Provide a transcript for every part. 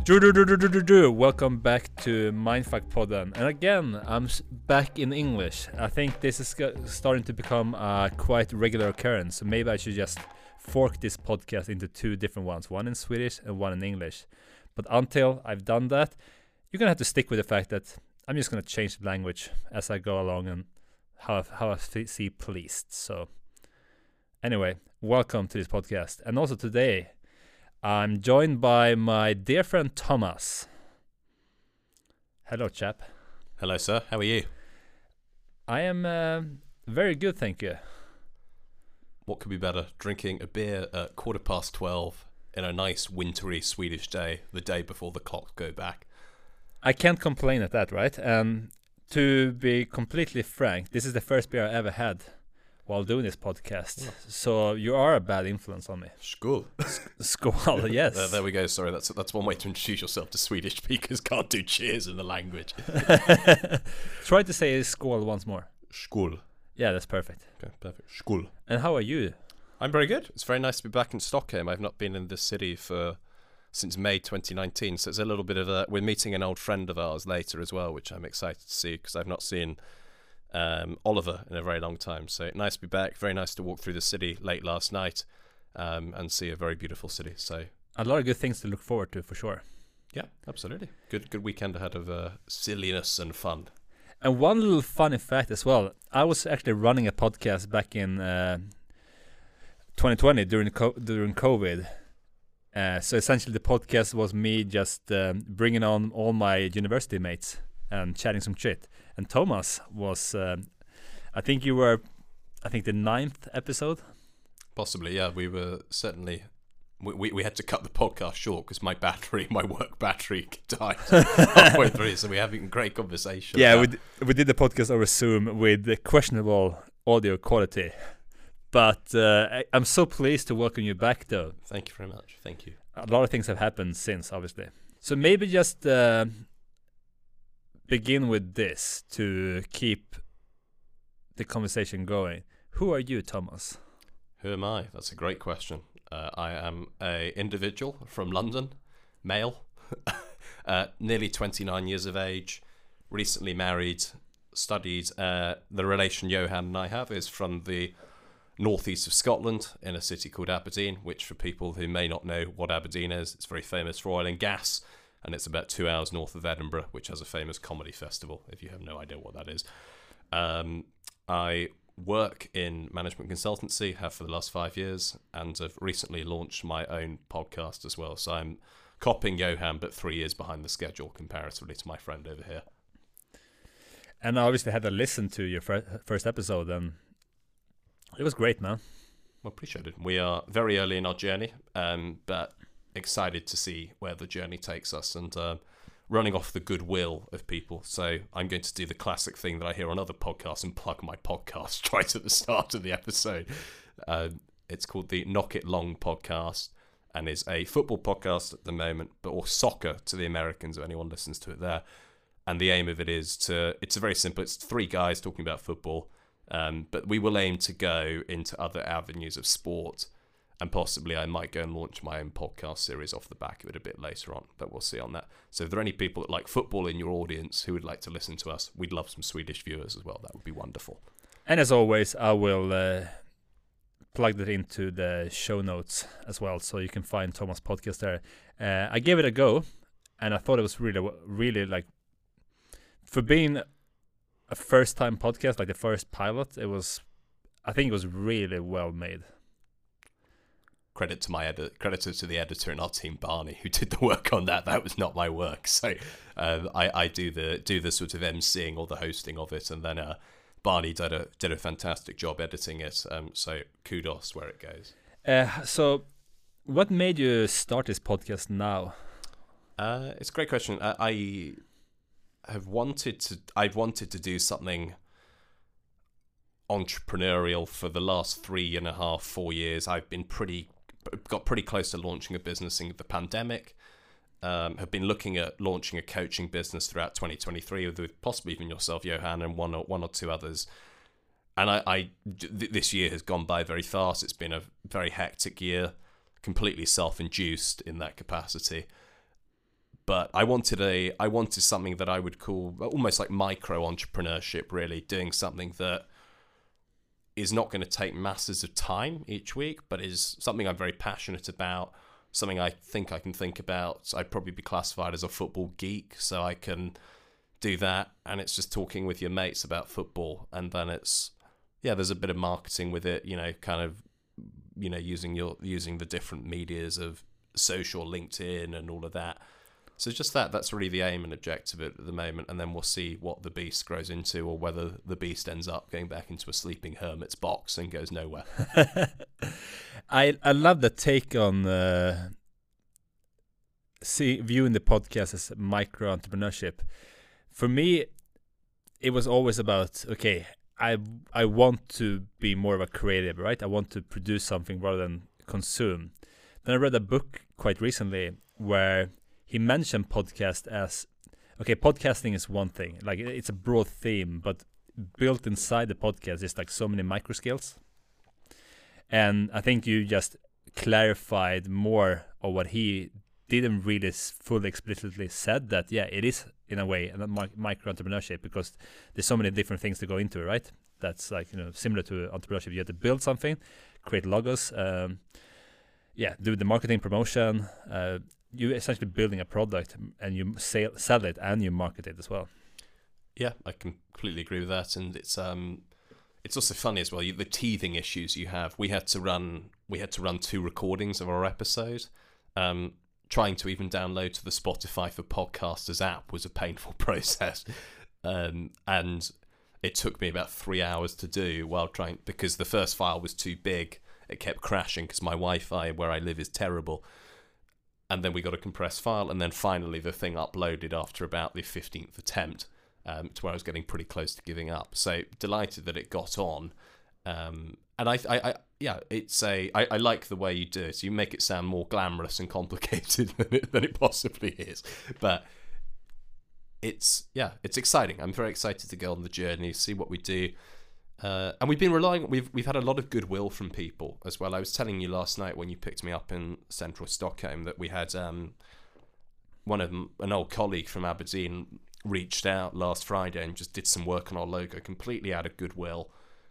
Welcome back to Mindfuck Podden, and again I'm back in English. I think this is starting to become a quite regular occurrence, so maybe I should just fork this podcast into two different ones, one in Swedish and one in English. But until I've done that, you're gonna have to stick with the fact that I'm just gonna change the language as I go along and how I see pleased. So anyway, welcome to this podcast, and also today I'm joined by my dear friend Thomas. Hello, chap. Hello, sir. How are you? I am very good, thank you. What could be better? Drinking a beer at 12:15 in a nice wintry Swedish day, the day before the clocks go back. I can't complain at that, right? To be completely frank, this is the first beer I ever had while doing this podcast. So you are a bad influence on me. Skål. Skål, yes. There we go. Sorry, that's one way to introduce yourself to Swedish speakers. Can't do cheers in the language. Try to say skål once more. Skål. Yeah, that's perfect. Okay, perfect. Skål. And how are you? I'm very good. It's very nice to be back in Stockholm. I've not been in this city since May 2019, so it's a little bit of a... We're meeting an old friend of ours later as well, which I'm excited to see because I've not seen Oliver in a very long time. So nice to be back. Very nice to walk through the city late last night and see a very beautiful city. So a lot of good things to look forward to, for sure. Yeah, absolutely. Good weekend ahead of silliness and fun. And one little funny fact as well. I was actually running a podcast back in 2020 during COVID. So essentially the podcast was me just bringing on all my university mates and chatting some shit. And Thomas was, I think the 9th episode. Possibly, yeah. We were certainly, we had to cut the podcast short because my work battery died halfway through. So we're having a great conversation. Yeah, we did the podcast over Zoom with questionable audio quality. But I'm so pleased to welcome you back, though. Thank you very much. Thank you. A lot of things have happened since, obviously. So maybe just begin with this to keep the conversation going. Who are you, Thomas? Who am I? That's a great question. I am an individual from London, male, nearly 29 years of age, recently married, studied. The relation Johan and I have is from the northeast of Scotland in a city called Aberdeen, which for people who may not know what Aberdeen is, it's very famous for oil and gas, and it's about 2 hours north of Edinburgh, which has a famous comedy festival, if you have no idea what that is. I work in management consultancy, have for the last 5 years, and have recently launched my own podcast as well. So I'm copying Johan, but 3 years behind the schedule comparatively to my friend over here. And I obviously had to listen to your first episode, and it was great, man. Well, appreciate it. We are very early in our journey, but excited to see where the journey takes us and running off the goodwill of people. So I'm going to do the classic thing that I hear on other podcasts and plug my podcast right at the start of the episode. It's called the Knock It Long podcast and is a football podcast at the moment, or soccer to the Americans, if anyone listens to it there. And the aim of it is it's very simple. It's 3 guys talking about football. But we will aim to go into other avenues of sport, and possibly I might go and launch my own podcast series off the back of it a bit later on, but we'll see on that. So if there are any people that like football in your audience who would like to listen to us, we'd love some Swedish viewers as well. That would be wonderful. And as always, I will plug that into the show notes as well, so you can find Thomas' podcast there. I gave it a go, and I thought it was really like, for being a first-time podcast, like the first pilot, I think it was really well made. Credit to the editor in our team, Barney, who did the work on that. That was not my work. So I do the sort of emceeing or the hosting of it, and then Barney did a fantastic job editing it. So kudos where it goes. So what made you start this podcast now? It's a great question. I've wanted to do something entrepreneurial for the last 3.5-4 years. I've got pretty close to launching a business in the pandemic. Have been looking at launching a coaching business throughout 2023 with possibly even yourself, Johan, and one or two others. And this year has gone by very fast. It's been a very hectic year, completely self-induced in that capacity. But I wanted something that I would call almost like micro entrepreneurship, really, doing something that is not going to take masses of time each week, but is something I'm very passionate about, something I think I can think about. I'd probably be classified as a football geek, so I can do that, and it's just talking with your mates about football, and then there's a bit of marketing with it, using the different medias of social, LinkedIn, and all of that. So just that's really the aim and objective at the moment, and then we'll see what the beast grows into, or whether the beast ends up going back into a sleeping hermit's box and goes nowhere. I love the take on viewing the podcast as micro entrepreneurship. For me, it was always about, okay, I want to be more of a creative, right? I want to produce something rather than consume. Then I read a book quite recently where he mentioned podcast as, okay, podcasting is one thing, like it's a broad theme, but built inside the podcast is like so many micro skills. And I think you just clarified more of what he didn't really fully explicitly said, that it is in a way a micro entrepreneurship, because there's so many different things to go into it, right? That's like, similar to entrepreneurship. You have to build something, create logos, do the marketing promotion. You're essentially building a product, and you sell it, and you market it as well. Yeah, I completely agree with that, and it's also funny as well. The teething issues you have. We had to run 2 recordings of our episode. Trying to even download to the Spotify for Podcasters app was a painful process, and it took me about 3 hours to do because the first file was too big. It kept crashing because my Wi-Fi where I live is terrible. And then we got a compressed file, and then finally the thing uploaded after about the 15th attempt, to where I was getting pretty close to giving up. So delighted that it got on. And I like the way you do it. So you make it sound more glamorous and complicated than it possibly is. But it's exciting. I'm very excited to go on the journey, see what we do. And we've been we've had a lot of goodwill from people as well. I was telling you last night when you picked me up in central Stockholm that we had an old colleague from Aberdeen reached out last Friday and just did some work on our logo completely out of goodwill.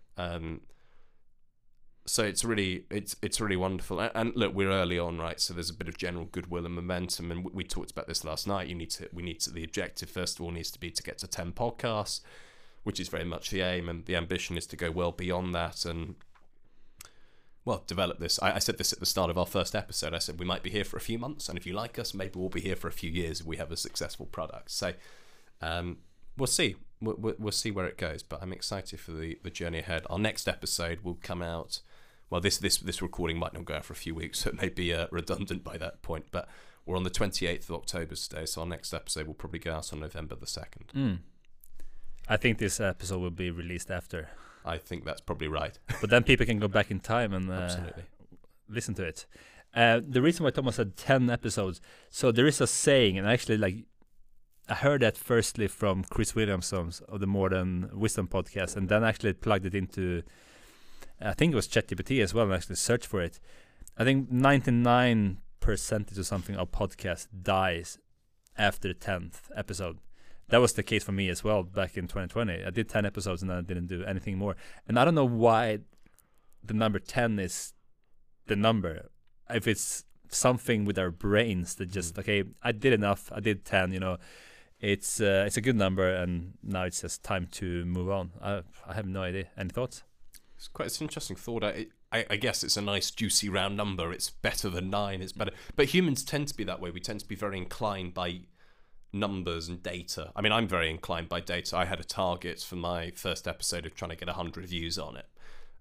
So it's really wonderful. And look, we're early on, right? So there's a bit of general goodwill and momentum. And we talked about this last night. The objective first of all needs to be to get to 10 podcasts, which is very much the aim, and the ambition is to go well beyond that and, develop this. I said this at the start of our first episode. I said we might be here for a few months, and if you like us, maybe we'll be here for a few years if we have a successful product. So we'll see. We'll see where it goes, but I'm excited for the journey ahead. Our next episode will come out. Well, this recording might not go out for a few weeks, so it may be redundant by that point, but we're on the 28th of October today, so our next episode will probably go out on November the 2nd. I think this episode will be released after. I think that's probably right. But then people can go back in time and absolutely listen to it. The reason why Thomas said 10 episodes, so there is a saying, and actually I heard that firstly from Chris Williamson of the Modern Wisdom podcast, and then actually plugged it into, I think it was ChatGPT as well, and actually searched for it. I think 99% or something of podcast dies after the 10th episode. That was the case for me as well back in 2020. I did 10 episodes and then I didn't do anything more. And I don't know why the number 10 is the number. If it's something with our brains that just, okay, I did enough. I did 10, It's a good number, and now it's just time to move on. I have no idea. Any thoughts? It's an interesting thought. I guess it's a nice juicy round number. It's better than 9. It's better. But humans tend to be that way. We tend to be very inclined by numbers and data. I mean, I'm very inclined by data. I had a target for my first episode of trying to get 100 views on it.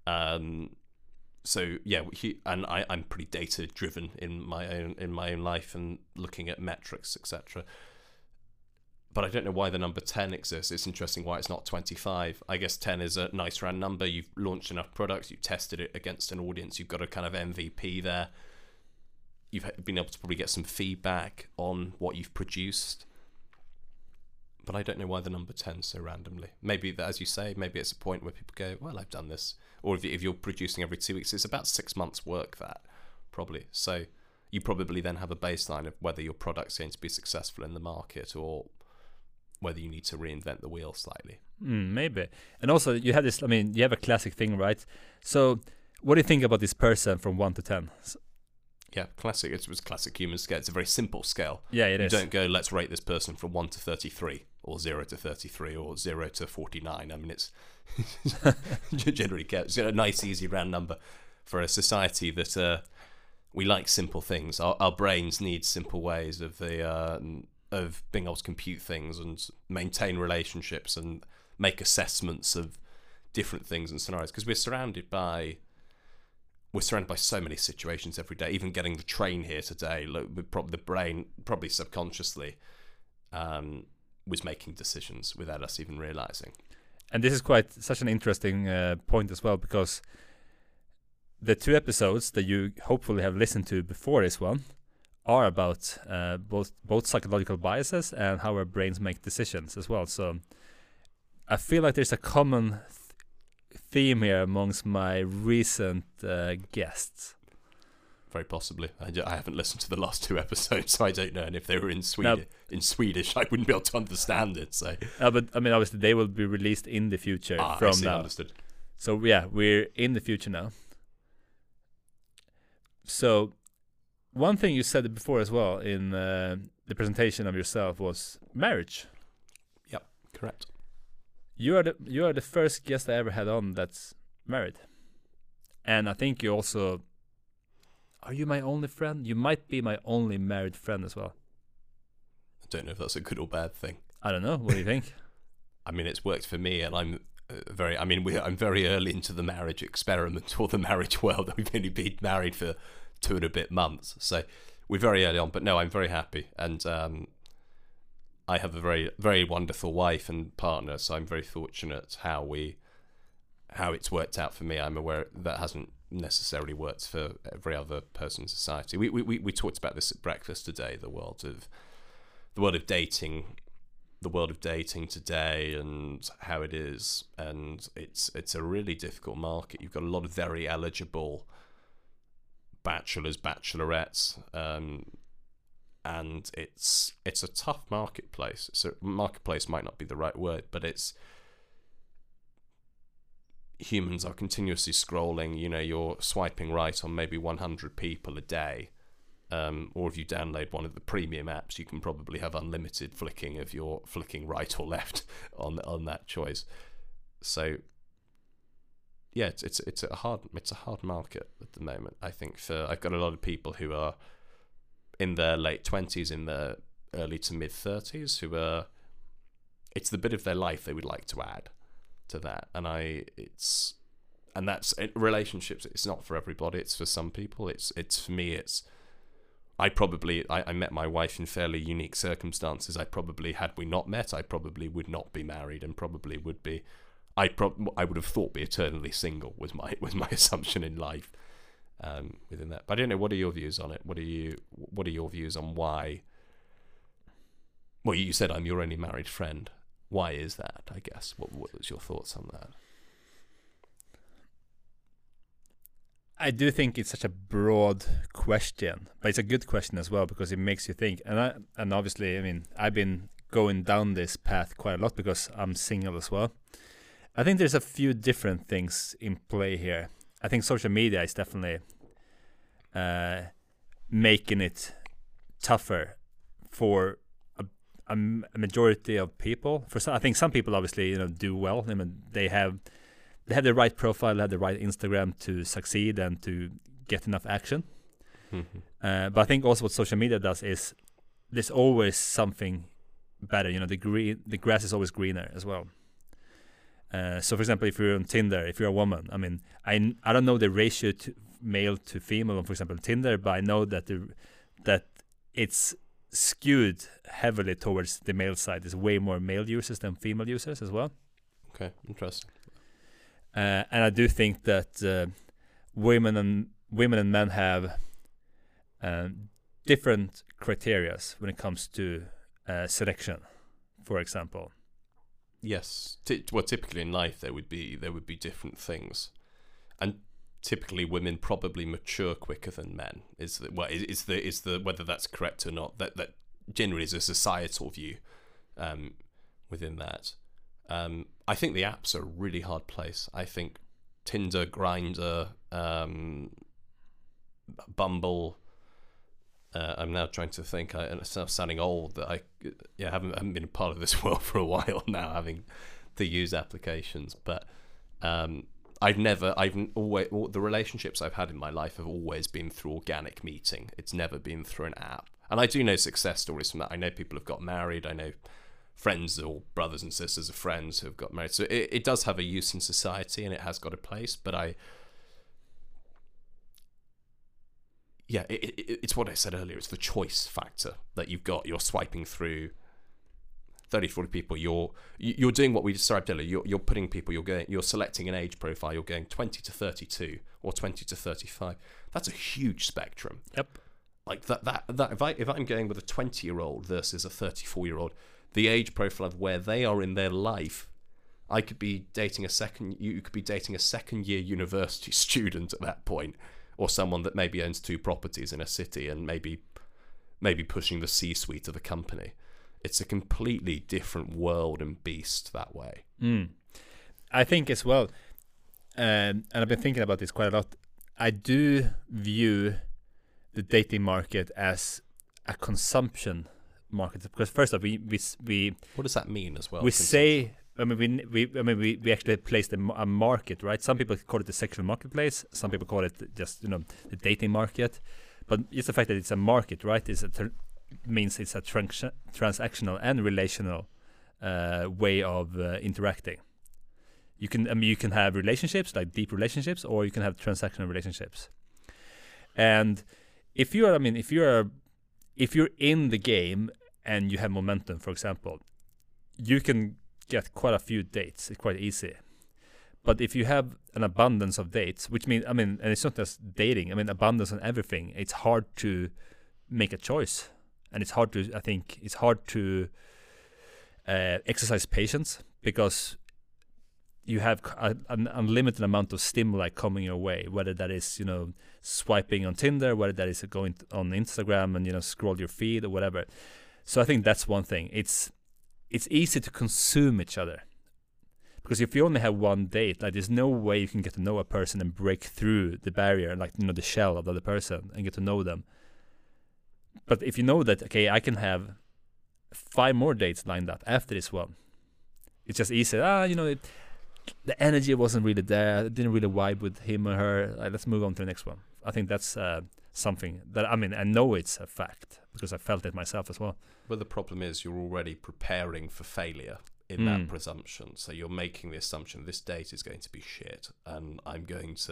So yeah, I'm pretty data driven in my own life and looking at metrics, etc. But I don't know why the number 10 exists. It's interesting why it's not 25. I guess 10 is a nice round number. You've launched enough products. You've tested it against an audience. You've got a kind of MVP there. You've been able to probably get some feedback on what you've produced. But I don't know why the number 10 so randomly. Maybe, as you say, maybe it's a point where people go, well, I've done this. Or if you're producing every 2 weeks, it's about 6 months work, that, probably. So you probably then have a baseline of whether your product's going to be successful in the market or whether you need to reinvent the wheel slightly. Maybe. And also, you have this. I mean, you have a classic thing, right? So, what do you think about this person from 1 to 10? Yeah, classic. It was classic human scale. It's a very simple scale. Yeah, it is. You don't go, let's rate this person from 1 to 33, or 0 to 33, or 0 to 49. I mean, it's generally kept. It's a nice, easy round number for a society that we like simple things. Our brains need simple ways of being able to compute things and maintain relationships and make assessments of different things and scenarios, because we're surrounded by so many situations every day. Even getting the train here today, the brain probably subconsciously was making decisions without us even realizing. And this is such an interesting point as well, because the 2 episodes that you hopefully have listened to before this one are about both psychological biases and how our brains make decisions as well. So I feel like there's a common theme here amongst my recent guests. Very possibly. I haven't listened to the last 2 episodes, so I don't know. And if they were in Swedish, I wouldn't be able to understand it. So, but I mean, obviously, they will be released in the future from now. Understood. So yeah, we're in the future now. So, one thing you said before as well in the presentation of yourself was marriage. Yep, correct. You are the first guest I ever had on that's married, and I think you also. Are you my only friend? You might be my only married friend as well. I don't know if that's a good or bad thing. I don't know. What do you think? I mean, it's worked for me, and I'm very early into the marriage experiment or the marriage world. We've only been married for 2 and a bit months, so we're very early on. But no, I'm very happy, and I have a very, very wonderful wife and partner. So I'm very fortunate how it's worked out for me. I'm aware that hasn't necessarily worked for every other person in society. We talked about this at breakfast today. The world of dating today and how it is, and it's a really difficult market. You've got a lot of very eligible bachelors, bachelorettes, and it's a tough marketplace. So marketplace might not be the right word, but humans are continuously scrolling. You're swiping right on maybe 100 people a day. Or if you download one of the premium apps, you can probably have unlimited flicking if you're flicking right or left on that choice. So yeah, it's a hard market at the moment. I think I've got a lot of people who are in their late 20s, in their early to mid 30s, who are, it's the bit of their life they would like to add to that. And that's relationships. It's not for everybody. It's for some people. It's for me. I met my wife in fairly unique circumstances. Had we not met, I probably would not be married, and probably would be. I would have thought be eternally single was my assumption in life. Within that, but I don't know. What are your views on it? What are your views on why? Well, you said I'm your only married friend. Why is that? I guess. What was your thoughts on that? I do think it's such a broad question, but it's a good question as well, because it makes you think. And obviously, I mean, I've been going down this path quite a lot because I'm single as well. I think there's a few different things in play here. I think social media is definitely making it tougher for a majority of people. I think some people obviously do well. I mean, they have the right profile, they have the right Instagram to succeed and to get enough action. Mm-hmm. But I think also what social media does is there's always something better. The grass is always greener as well. So for example, if you're on Tinder, if you're a woman, I mean, I don't know the ratio to male to female on, for example, Tinder, but I know that that it's skewed heavily towards the male side. There's way more male users than female users as well. Okay, interesting. And I do think that women and men have different criterias when it comes to selection, for example. Yes. Well, typically in life there would be different things, and typically women probably mature quicker than men. Is the whether that's correct or not? That generally is a societal view within that. I think the apps are a really hard place. I think Tinder, Grindr, Bumble. I'm now trying to think. I'm sounding old. That I haven't been a part of this world for a while now, having to use applications. But the relationships I've had in my life have always been through organic meeting. It's never been through an app. And I do know success stories from that. I know people have got married. I know friends or brothers and sisters of friends who have got married. So it does have a use in society, and it has got a place. But it's what I said earlier. It's the choice factor that you've got. You're swiping through 30, 40 people. You're doing what we described earlier. You're putting people. You're selecting an age profile. You're going 20 to 32 or 20 to 35. That's a huge spectrum. Yep. Like that. If I'm going with a 20-year-old versus a 34-year-old, the age profile of where they are in their life. I could be dating you could be dating a second-year university student at that point. Or someone that maybe owns 2 properties in a city and maybe pushing the C-suite of a company. It's a completely different world and beast that way. I think as well, and I've been thinking about this quite a lot. I do view the dating market as a consumption market, because first off, we what does that mean as well? We say. We actually placed a market, right? Some people call it the sexual marketplace. Some people call it just the dating market. But just the fact that it's a market, right, means it's a transactional and relational way of interacting. You can have relationships, like deep relationships, or you can have transactional relationships. And if you're in the game and you have momentum, for example, you can get quite a few dates. It's quite easy. But if you have an abundance of dates, which means, and it's not just dating, abundance on everything, it's hard to make a choice. And it's hard to exercise patience, because you have an unlimited amount of stimuli coming your way, whether that is, swiping on Tinder, whether that is going on Instagram and, scroll your feed or whatever. So I think that's one thing. It's easy to consume each other, because if you only have one date, like there's no way you can get to know a person and break through the barrier, like the shell of the other person, and get to know them. But if you know that, okay, I can have 5 more dates lined up after this one, it's just easy. The energy wasn't really there. I didn't really vibe with him or her. Let's move on to the next one. I think that's something that I know it's a fact, because I felt it myself as well. But the problem is you're already preparing for failure in that presumption. So you're making the assumption this date is going to be shit, and I'm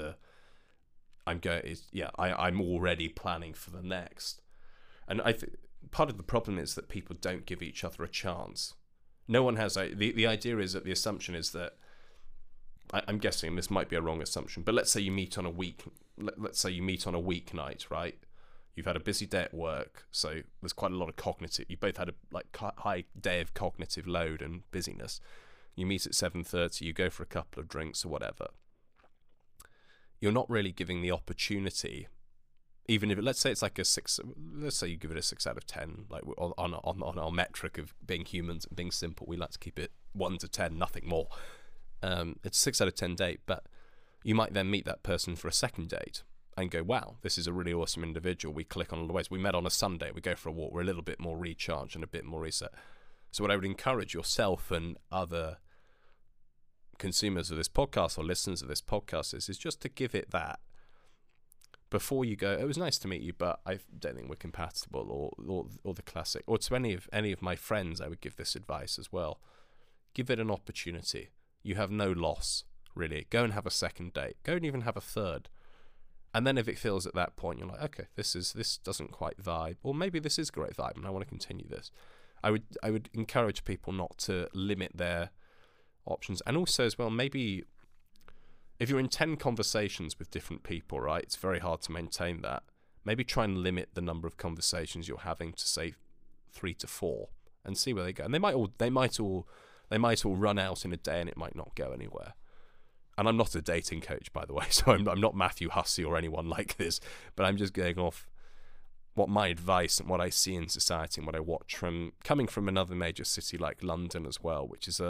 already planning for the next. And I think part of the problem is that people don't give each other a chance. No one has. The idea is that the assumption is that, I'm guessing this might be a wrong assumption, but let's say you meet on a weeknight, right? You've had a busy day at work, so there's quite a lot of cognitive. You both had a high day of cognitive load and busyness. You meet at 7:30. You go for a couple of drinks or whatever. You're not really giving the opportunity, even if let's say it's like a 6. Let's say you give it a 6 out of 10, like on our metric of being humans and being simple. We like to keep it 1 to 10, nothing more. It's a 6 out of 10 date, but you might then meet that person for a second date and go, wow, this is a really awesome individual. We click on all the ways. We met on a Sunday. We go for a walk. We're a little bit more recharged and a bit more reset. So what I would encourage yourself and other consumers of this podcast or listeners of this podcast is just to give it that. Before you go, it was nice to meet you, but I don't think we're compatible, or the classic. Or to any of my friends, I would give this advice as well. Give it an opportunity. You have no loss, really. Go and have a second date. Go and even have a third. And then if it feels at that point, you're like, okay, this doesn't quite vibe, or maybe this is a great vibe and I want to continue this. I would encourage people not to limit their options. And also as well, maybe if you're in 10 conversations with different people, right, it's very hard to maintain that. Maybe try and limit the number of conversations you're having to, say, 3 to 4 and see where they go. And they might all run out in a day and it might not go anywhere. and I'm not a dating coach, by the way, so I'm not Matthew Hussey or anyone like this, but I'm just going off what my advice and what I see in society and what I watch from coming from another major city like London as well, which is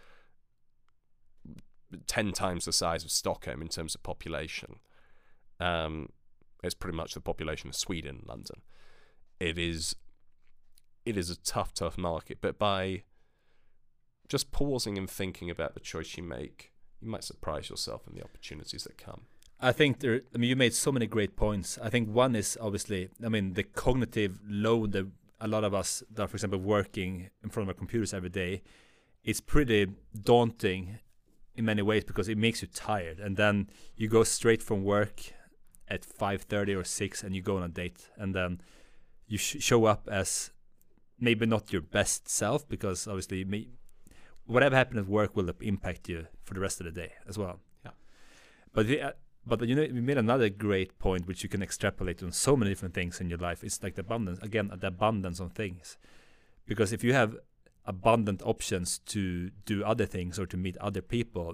10 times the size of Stockholm in terms of population. It's pretty much the population of Sweden, London. It is a tough market, but by just pausing and thinking about the choice you make, you might surprise yourself in the opportunities that come. I think you made so many great points. I think one is obviously, the cognitive load that a lot of us that are, for example, working in front of our computers every day, it's pretty daunting in many ways because it makes you tired. And then you go straight from work at 5:30 or 6 and you go on a date. And then you show up as maybe not your best self because obviously whatever happened at work will impact you for the rest of the day as well. Yeah. But you made another great point which you can extrapolate on so many different things in your life. It's like the abundance of things. Because if you have abundant options to do other things or to meet other people,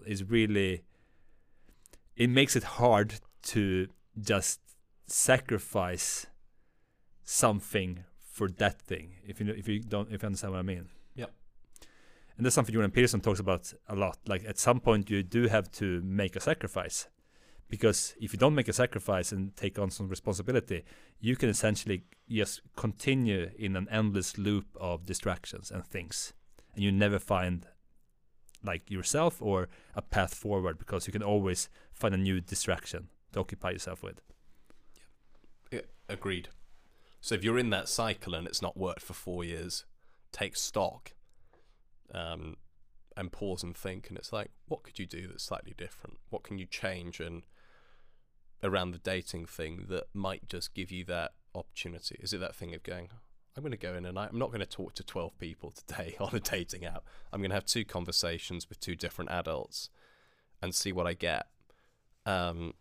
it makes it hard to just sacrifice something for that thing. If you understand what I mean. Yep. And that's something Jordan Peterson talks about a lot. Like at some point you do have to make a sacrifice. Because if you don't make a sacrifice and take on some responsibility, you can essentially just continue in an endless loop of distractions and things. And you never find like yourself or a path forward because you can always find a new distraction to occupy yourself with. Yeah, agreed. So if you're in that cycle and it's not worked for 4 years, take stock and pause and think. And it's like, what could you do that's slightly different? What can you change and around the dating thing that might just give you that opportunity? Is it that thing of going, I'm going to go in and I'm not going to talk to 12 people today on a dating app. I'm going to have 2 conversations with 2 different adults and see what I get. And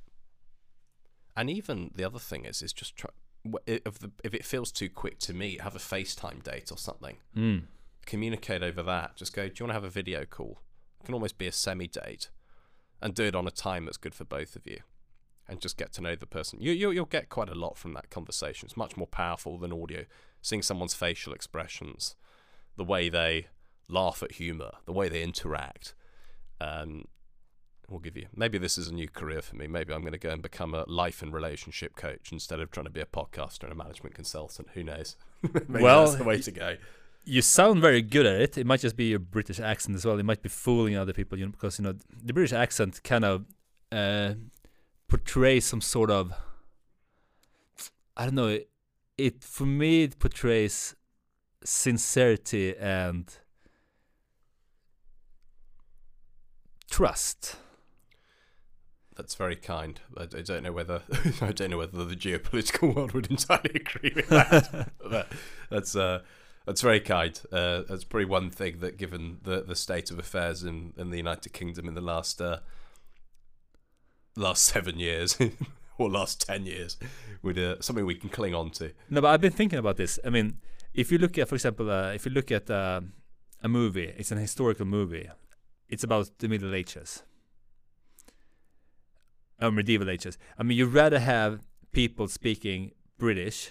even the other thing is just try, if it feels too quick to meet, have a FaceTime date or something. Communicate over that. Just go, do you want to have a video call? It can almost be a semi-date and do it on a time that's good for both of you. And just get to know the person. You'll get quite a lot from that conversation. It's much more powerful than audio. Seeing someone's facial expressions, the way they laugh at humor, the way they interact, will give you. Maybe this is a new career for me. Maybe I'm going to go and become a life and relationship coach instead of trying to be a podcaster and a management consultant. Who knows? Maybe that's the way to go. You sound very good at it. It might just be your British accent as well. It might be fooling other people, because the British accent kind of portrays some sort of, I don't know, it for me it portrays sincerity and trust. That's very kind. I don't know whether the geopolitical world would entirely agree with that. But that's very kind. That's probably one thing that, given the state of affairs in the United Kingdom in the last 7 years or last 10 years, with something we can cling on to. No, but I've been thinking about this. I mean, if you look at, for example, a movie, it's an historical movie. It's about the Middle Ages. Medieval ages. I mean, you'd rather have people speaking British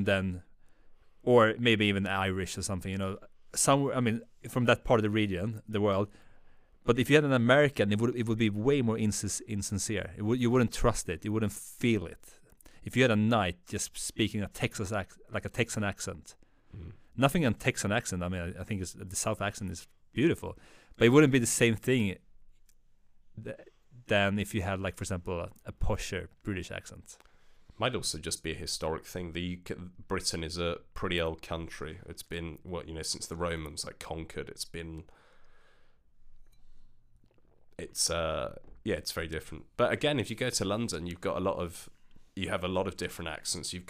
or maybe even Irish or something, somewhere, I mean, from that part of the region, the world. But if you had an American, it would be way more insincere. You wouldn't trust it. You wouldn't feel it. If you had a knight just speaking a Texan accent, nothing on Texan accent. I mean, I think the South accent is beautiful, but it wouldn't be the same thing than if you had, like, for example, a posher British accent. Might also just be a historic thing. Britain is a pretty old country. It's been since the Romans conquered. It's very different. But again, if you go to London, you have a lot of different accents. You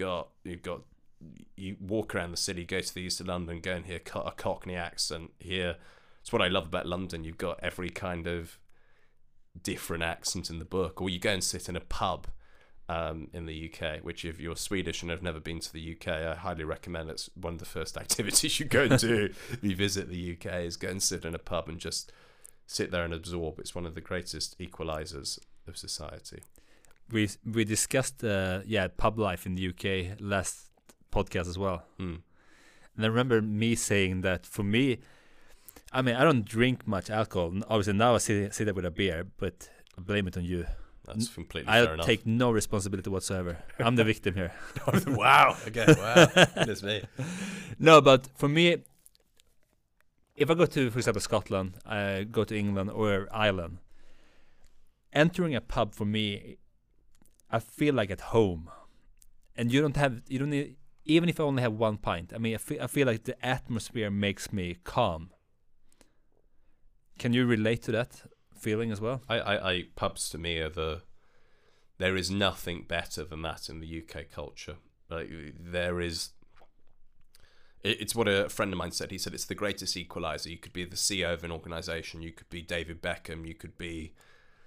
walk around the city, go to the east of London, go and hear a Cockney accent. Here, it's what I love about London. You've got every kind of different accent in the book. Or you go and sit in a pub in the UK, which, if you're Swedish and have never been to the UK, I highly recommend. It's one of the first activities you go and do if you visit the UK, is go and sit in a pub and just sit there and absorb. It's one of the greatest equalizers of society. We discussed pub life in the UK last podcast as well. And I remember me saying that for me, I mean, I don't drink much alcohol. Obviously now I sit there with a beer, but I blame it on you. That's completely fair enough. I take no responsibility whatsoever. I'm the victim here. Wow. Okay. Wow. Goodness me. No, but for me, if I go to, for example, Scotland, I go to England or Ireland, entering a pub for me, I feel like at home. And you don't need, even if I only have one pint, I mean, I feel like the atmosphere makes me calm. Can you relate to that feeling as well? I pubs to me are there is nothing better than that in the UK culture. Like it's what a friend of mine said. He said it's the greatest equalizer. You could be the CEO of an organization. You could be David Beckham. You could be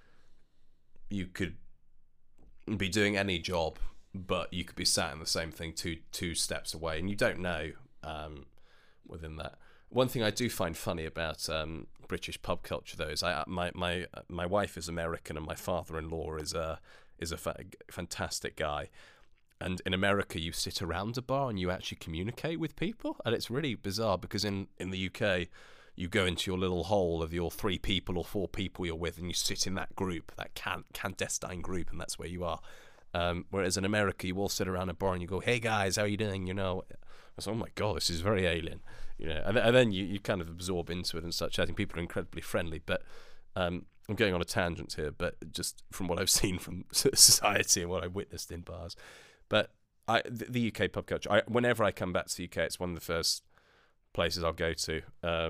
doing any job, but you could be sat in the same thing two steps away, and you don't know within that. One thing I do find funny about British pub culture, though, is my wife is American and my father-in-law is a fantastic guy. And in America, you sit around a bar and you actually communicate with people, and it's really bizarre because in the UK, you go into your little hole of your 3 people or 4 people you're with, and you sit in that group, that clandestine group, and that's where you are. Whereas in America, you all sit around a bar and you go, "Hey guys, how are you doing?" You know, I was, oh my god, this is very alien. You know, and then you kind of absorb into it and such. I think people are incredibly friendly, but I'm going on a tangent here, but just from what I've seen from society and what I've witnessed in bars. But the UK pub culture, whenever I come back to the UK, it's one of the first places I'll go to,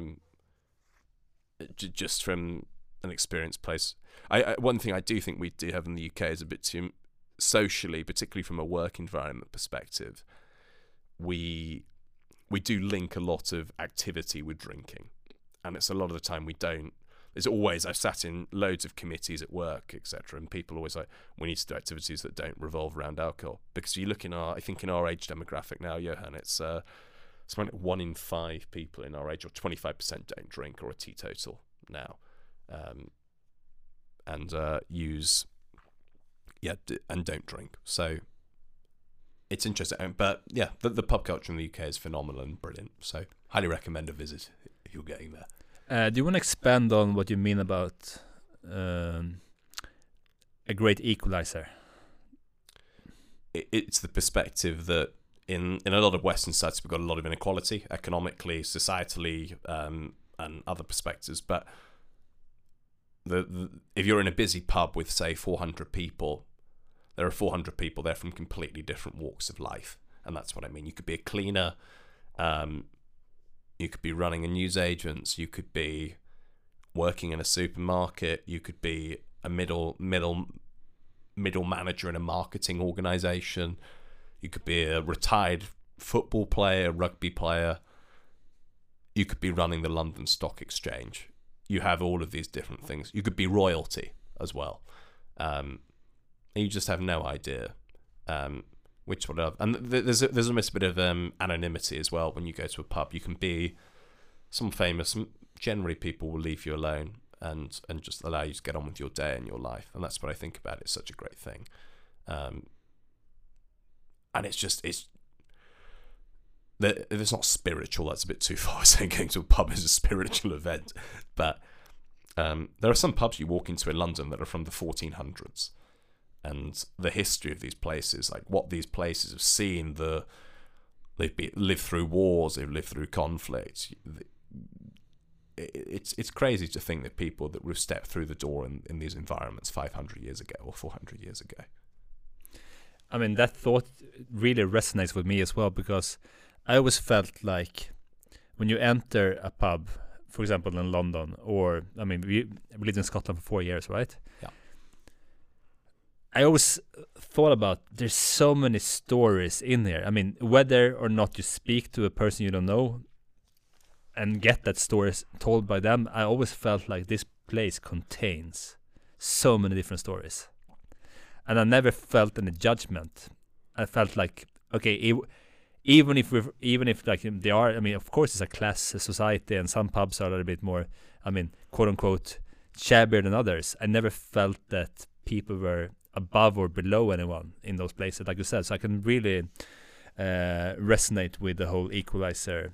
just from an experienced place. One thing I do think we do have in the UK is a bit too socially, particularly from a work environment perspective, we do link a lot of activity with drinking, and it's a lot of the time we don't. There's always, I've sat in loads of committees at work, etc., and people always like, we need to do activities that don't revolve around alcohol, because you look I think in our age demographic now, Johan, it's something like 1 in 5 people in our age, or 25% don't drink or are teetotal now, and don't drink. So it's interesting, but yeah, the pub culture in the UK is phenomenal and brilliant. So highly recommend a visit if you're getting there. Do you want to expand on what you mean about a great equalizer? It's the perspective that in a lot of Western societies we've got a lot of inequality, economically, societally, and other perspectives. But if you're in a busy pub with, say, 400 people, there are 400 people there from completely different walks of life, and that's what I mean. You could be a cleaner. You could be running a newsagent. You could be working in a supermarket. You could be a middle manager in a marketing organization. You could be a retired football player, rugby player. You could be running the London Stock Exchange. You have all of these different things. You could be royalty as well, and you just have no idea. Which one? And there's almost a bit of anonymity as well when you go to a pub. You can be some famous. Generally, people will leave you alone and just allow you to get on with your day and your life. And that's what I think about it. It's such a great thing. And it's not spiritual. That's a bit too far. Saying going to a pub is a spiritual event, but there are some pubs you walk into in London that are from the 1400s. And the history of these places, like what these places have seen, they've lived through wars, they've lived through conflict. It's crazy to think that people that would step through the door in these environments 500 years ago or 400 years ago. I mean, that thought really resonates with me as well, because I always felt like when you enter a pub, for example, in London, or, I mean, we lived in Scotland for 4 years, right? Yeah. I always thought about, there's so many stories in here. I mean, whether or not you speak to a person you don't know and get that story told by them, I always felt like this place contains so many different stories. And I never felt any judgment. I felt like, okay, even if like they are, I mean, of course it's a class society, and some pubs are a little bit more, I mean, quote unquote, shabbier than others. I never felt that people were above or below anyone in those places, like you said. So I can really resonate with the whole equalizer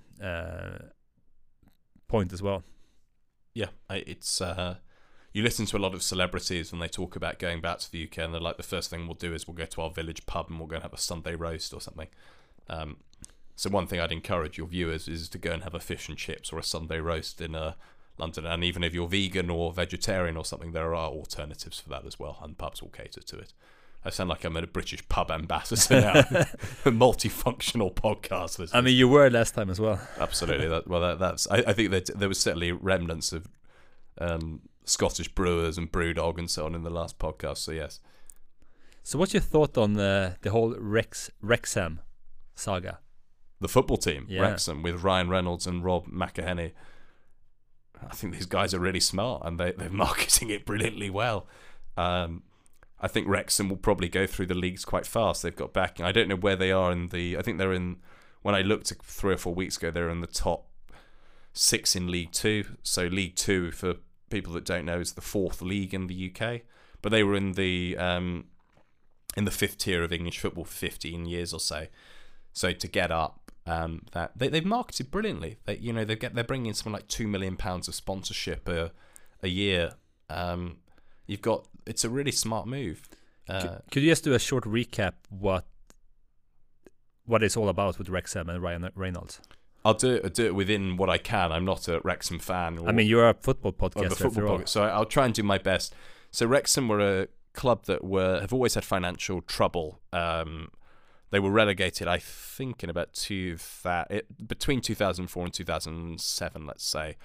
point as well. Yeah, it's you listen to a lot of celebrities and they talk about going back to the UK, and they're like, the first thing we'll do is we'll go to our village pub and we'll go and have a Sunday roast or something. So one thing I'd encourage your viewers is to go and have a fish and chips or a Sunday roast in London. And even if you're vegan or vegetarian or something, there are alternatives for that as well, and pubs will cater to it. I sound like I'm a British pub ambassador now, a multifunctional podcast. I mean, you were last time as well. Absolutely. That's. I think that there was certainly remnants of Scottish brewers and Brewdog and so on in the last podcast. So yes. So what's your thought on the whole Wrexham saga? The football team, Yeah. Wrexham, with Ryan Reynolds and Rob McElhenney. I think these guys are really smart and they're marketing it brilliantly well. I think Wrexham will probably go through the leagues quite fast. They've got backing. I don't know where they are in the... I think they're in... When I looked 3 or 4 weeks ago, they're in the top 6 in League 2. So League 2, for people that don't know, is the 4th league in the UK. But they were in the 5th tier of English football for 15 years or so. So to get up, that they've marketed brilliantly. They're bringing in something like £2 million of sponsorship a year. It's a really smart move. Could you just do a short recap what it's all about with Wrexham and Ryan Reynolds? I'll do it within what I can. I'm not a Wrexham fan. I mean, you're a football podcaster. Football podcast, so I'll try and do my best. So Wrexham were a club that have always had financial trouble. They were relegated, I think, in about between 2004 and 2007, let's say.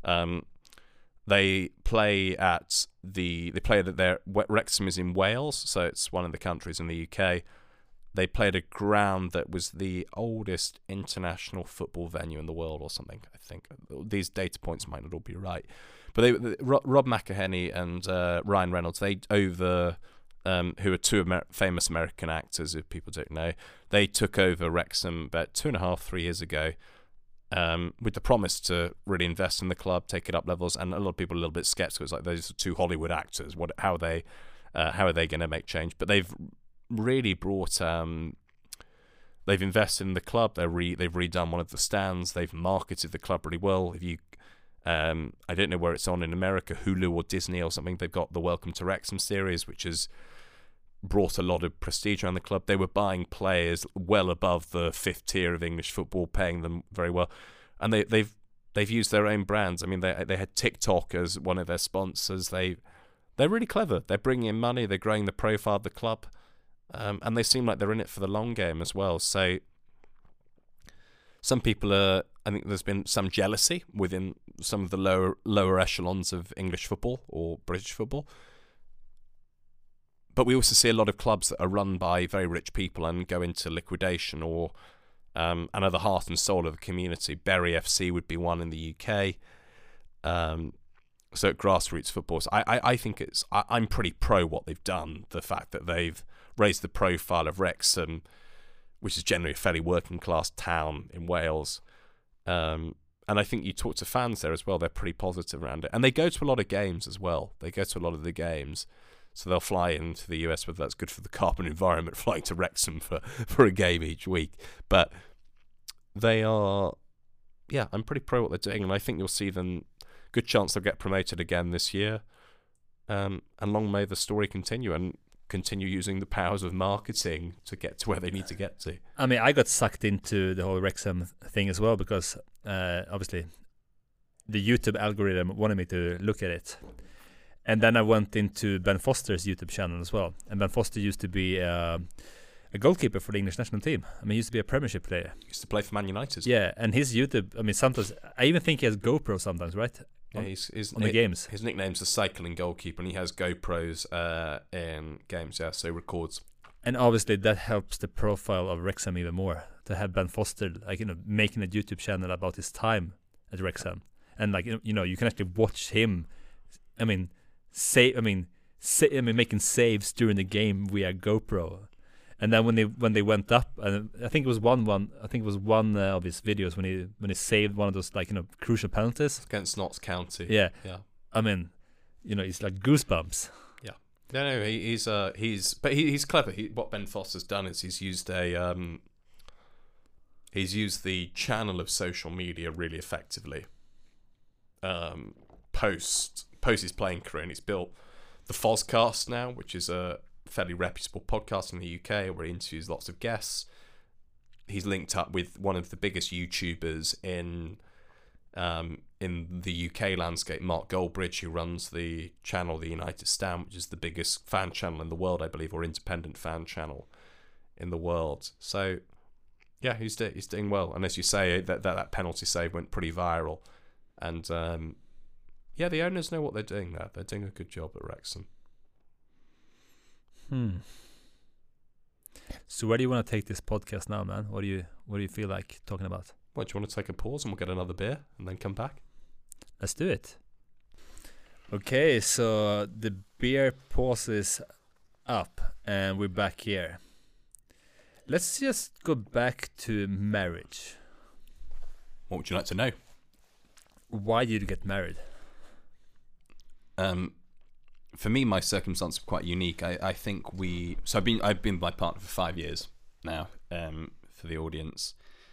They play at Wrexham is in Wales, so it's one of the countries in the UK. They played a ground that was the oldest international football venue in the world or something, I think. These data points might not all be right. But Rob McElhenney and Ryan Reynolds, who are two famous American actors, if people don't know, they took over Wrexham about 2.5-3 years ago, with the promise to really invest in the club, take it up levels, and a lot of people are a little bit skeptical. It's like, those are 2 Hollywood actors. How are they going to make change? But they've really brought. They've invested in the club. They've redone one of the stands. They've marketed the club really well. If you I don't know where it's on in America, Hulu or Disney or something. They've got the Welcome to Wrexham series, which has brought a lot of prestige around the club. They were buying players well above the 5th tier of English football, paying them very well, and they've used their own brands. I mean, they had TikTok as one of their sponsors. They're really clever. They're bringing in money. They're growing the profile of the club, and they seem like they're in it for the long game as well. So some people are. I think there's been some jealousy within some of the lower echelons of English football or British football. But we also see a lot of clubs that are run by very rich people and go into liquidation, or and are the heart and soul of the community. Bury FC would be one in the UK. So grassroots football. So I think I'm pretty pro what they've done. The fact that they've raised the profile of Wrexham, which is generally a fairly working class town in Wales. And I think you talk to fans there as well, they're pretty positive around it. And they go to a lot of games as well. They go to a lot of the games. So they'll fly into the US, whether that's good for the carbon environment, flying to Wrexham for a game each week. But they are, I'm pretty pro what they're doing. And I think you'll see them, good chance they'll get promoted again this year. And long may the story continue, and continue using the powers of marketing to get to where they need to get to. I mean, I got sucked into the whole Wrexham thing as well, because obviously the YouTube algorithm wanted me to look at it. And then I went into Ben Foster's YouTube channel as well. And Ben Foster used to be a goalkeeper for the English national team. I mean, he used to be a Premiership player. He used to play for Man United. Yeah, and his YouTube, I mean, sometimes, I even think he has GoPro sometimes, right? Yeah, on the games. His nickname's the cycling goalkeeper, and he has GoPros in games, so he records. And obviously that helps the profile of Wrexham even more, to have Ben Foster, making a YouTube channel about his time at Wrexham. And you can actually watch him, making saves during the game via GoPro. And then when they went up, and I think it was one of his videos when he saved one of those crucial penalties against Notts County. Yeah. I mean, it's like goosebumps. No, he's clever. What Ben Foster's done is he's used the channel of social media really effectively. Post his playing career, and he's built the Fozcast now, which is a fairly reputable podcast in the UK where he interviews lots of guests. He's linked up with one of the biggest YouTubers in the UK landscape, Mark Goldbridge, who runs the channel The United Stand, which is the biggest fan channel in the world, I believe, or independent fan channel in the world. So, yeah, he's doing well. And as you say, that penalty save went pretty viral. And, the owners know what they're doing there. They're doing a good job at Wrexham. So where do you want to take this podcast now, man? What do you feel like talking about? What, do you want to take a pause and we'll get another beer and then come back? Let's do it. Okay, so the beer pause is up and we're back here. Let's just go back to marriage. What would you like to know? Why did you get married? For me, my circumstances are quite unique. I think I've been with my partner for 5 years now. For the audience,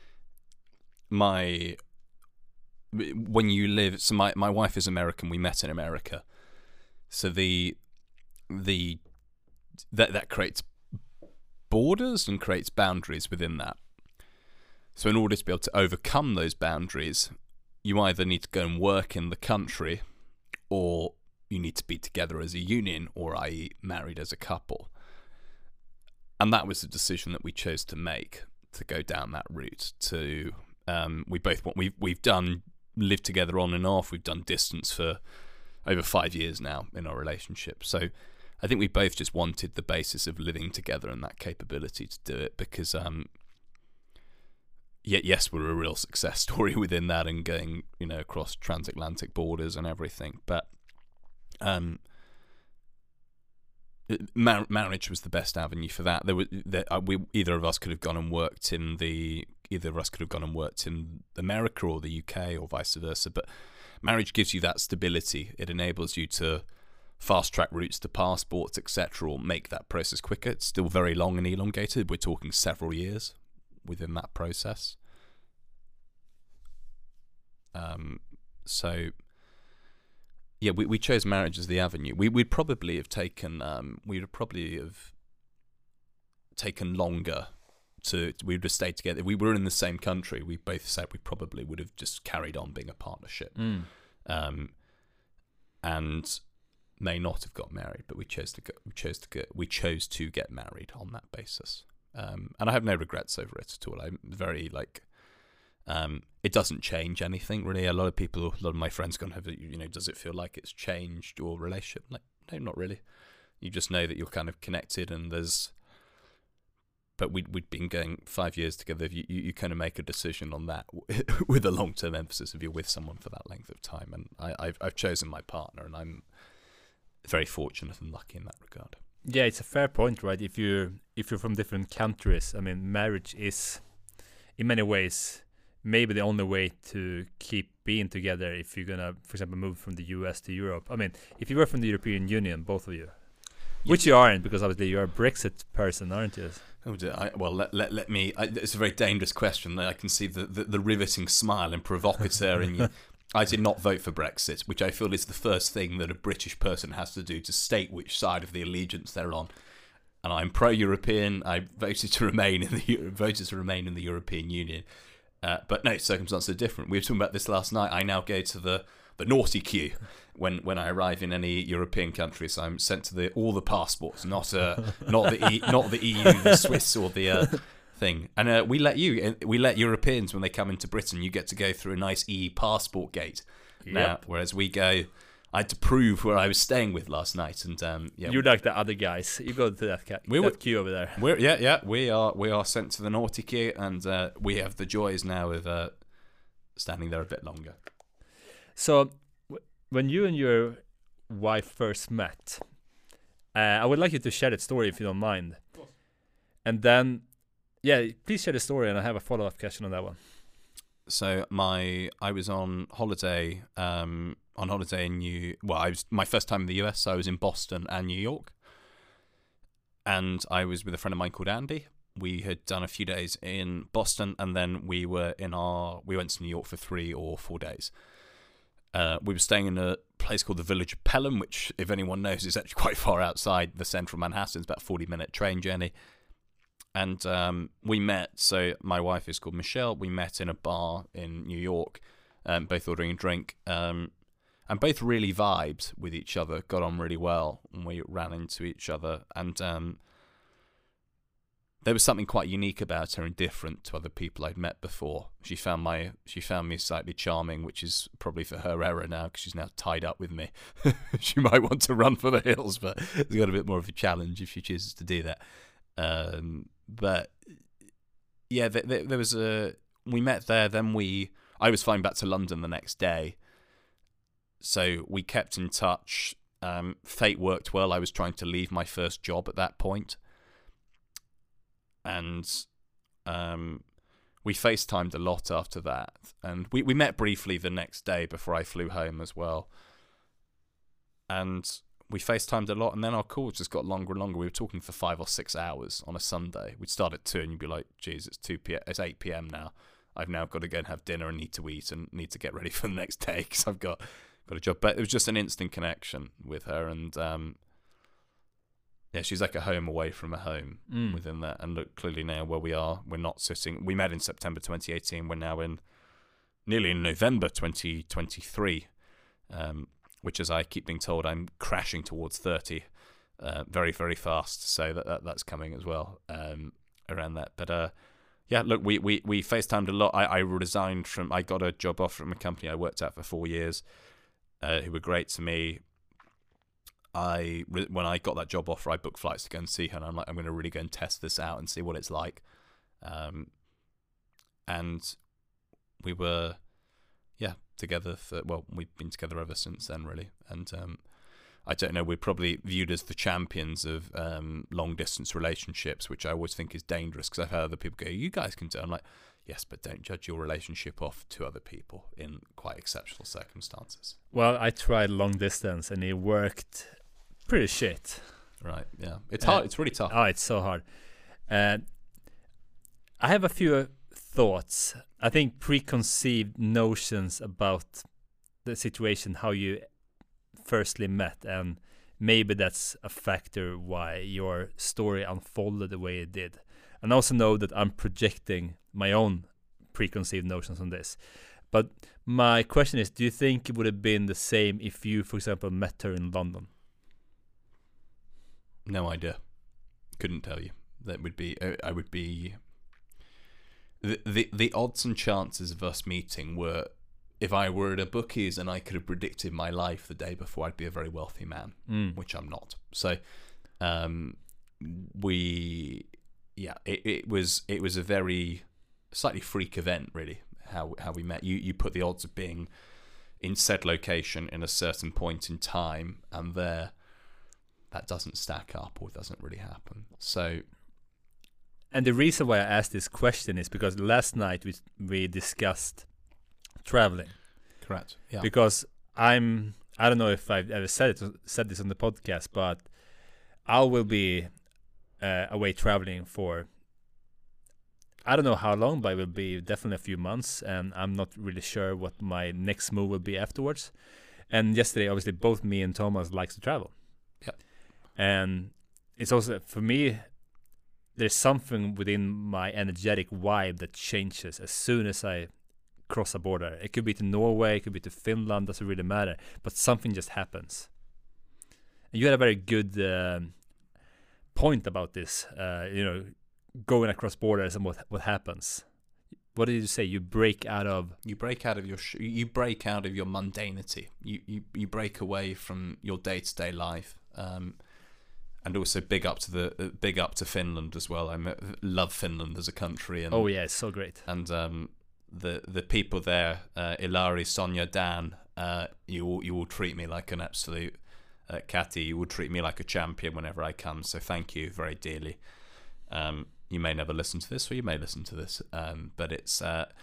my wife is American. We met in America, so that creates borders and creates boundaries within that. So in order to be able to overcome those boundaries, you either need to go and work in the country, or you need to be together as a union, or i.e. married as a couple. And that was the decision that we chose to make, to go down that route. We've done live together on and off. We've done distance for over 5 years now in our relationship. So I think we both just wanted the basis of living together and that capability to do it, because yes, we're a real success story within that and going, across transatlantic borders and everything. But marriage was the best avenue for that. Either of us could have gone and worked in America or the UK or vice versa. But marriage gives you that stability. It enables you to fast track routes to passports, etc., or make that process quicker. It's still very long and elongated. We're talking several years within that process. We chose marriage as the avenue. We'd probably have taken longer we would have stayed together. If we were in the same country, we both said we probably would have just carried on being a partnership, and may not have got married. But we chose to get married on that basis, and I have no regrets over it at all. I'm very it doesn't change anything really. A lot of my friends gone, does it feel like it's changed your relationship? Like, no, not really. You just know that you're kind of connected, and but we'd been going 5 years together. You kind of make a decision on that with a long-term emphasis if you're with someone for that length of time. And I've chosen my partner, and I'm very fortunate and lucky in that regard. Yeah, it's a fair point, right? If you're from different countries, I mean, marriage is in many ways maybe the only way to keep being together if you're gonna, for example, move from the US to Europe. I mean, if you were from the European Union, both of you, which you aren't, because obviously you're a Brexit person, aren't you? Oh, let me. It's a very dangerous question. I can see the riveting smile and provocateur in you. I did not vote for Brexit, which I feel is the first thing that a British person has to do to state which side of the allegiance they're on. And I'm pro-European. I voted to remain in the European Union. But no, circumstances are different. We were talking about this last night. I now go to the naughty queue when I arrive in any European country. So I'm sent to all the passports, not the EU, the Swiss, or the thing. And we let Europeans, when they come into Britain, you get to go through a nice passport gate now. Whereas I had to prove where I was staying with last night, and you're like the other guys. You go to that queue over there. We are sent to the naughty queue, and we have the joys now of standing there a bit longer. So, when you and your wife first met, I would like you to share that story if you don't mind. Of course. And then, please share the story, and I have a follow-up question on that one. So I was on holiday in my first time in the US. So I was in Boston and New York, and I was with a friend of mine called Andy. We had done a few days in Boston, and then we went to New York for 3 or 4 days. We were staying in a place called the Village of Pelham, which, if anyone knows, is actually quite far outside the central Manhattan. It's about a 40-minute train journey. And we met, so my wife is called Michelle. We met in a bar in New York, both ordering a drink, and both really vibed with each other, got on really well, and we ran into each other. And there was something quite unique about her and different to other people I'd met before. She found me slightly charming, which is probably for her error now, because she's now tied up with me. She might want to run for the hills, but it's got a bit more of a challenge if she chooses to do that. But yeah, there was we met there. Then I was flying back to London the next day, so we kept in touch. Fate worked well. I was trying to leave my first job at that point. And we FaceTimed a lot after that. And we met briefly the next day before I flew home as well. And we FaceTimed a lot, and then our calls just got longer and longer. We were talking for 5 or 6 hours on a Sunday. We'd start at 2, and you'd be like, geez, it's 8 p.m. now. I've now got to go and have dinner and need to eat and need to get ready for the next day because I've got a job. But it was just an instant connection with her, and yeah, she's like a home away from a home within that. And look, clearly now where we are, we're not sitting. We met in September 2018. We're now nearly in November 2023, which, as I keep being told, I'm crashing towards 30 very, very fast. So that's coming as well around that. But yeah, look, we FaceTimed a lot. I resigned from. I got a job offer from a company I worked at for 4 years, who were great to me. When I got that job offer, I booked flights to go and see her, and I'm like, I'm going to really go and test this out and see what it's like. And we were, together we've been together ever since then, really. And I don't know, we're probably viewed as the champions of long distance relationships, which I always think is dangerous because I've heard other people go, you guys can do it. I'm like, yes, but don't judge your relationship off to other people in quite exceptional circumstances. Well, I tried long distance and it worked pretty shit. Right, yeah. It's hard. It's really tough. Oh, it's so hard. I have a few thoughts. I think preconceived notions about the situation, how you firstly met, and maybe that's a factor why your story unfolded the way it did. And I also know that I'm projecting my own preconceived notions on this. But my question is, do you think it would have been the same if you, for example, met her in London? No idea. Couldn't tell you. That would be. I would be. The odds and chances of us meeting were, if I were at a bookies and I could have predicted my life the day before, I'd be a very wealthy man, which I'm not. So, it was a very slightly freak event, really. How we met. You put the odds of being in said location in a certain point in time, and that doesn't stack up or doesn't really happen. So, and the reason why I asked this question is because last night we discussed traveling. Correct. Yeah. Because I don't know if I've ever said this on the podcast, but I will be away traveling for, I don't know how long, but it will be definitely a few months, and I'm not really sure what my next move will be afterwards. And yesterday, obviously, both me and Thomas likes to travel. Yeah. And it's also, for me, there's something within my energetic vibe that changes as soon as I cross a border. It could be to Norway, it could be to Finland, doesn't really matter. But something just happens. And you had a very good point about this, going across borders and what happens. What did you say? You break out of your mundanity. You break away from your day-to-day life. And also big up to Finland as well. I love Finland as a country. And, oh yeah, it's so great. And the people there, Ilari, Sonia, Dan, you will treat me like an absolute Catty. You will treat me like a champion whenever I come. So thank you very dearly. You may never listen to this, or you may listen to this, but it's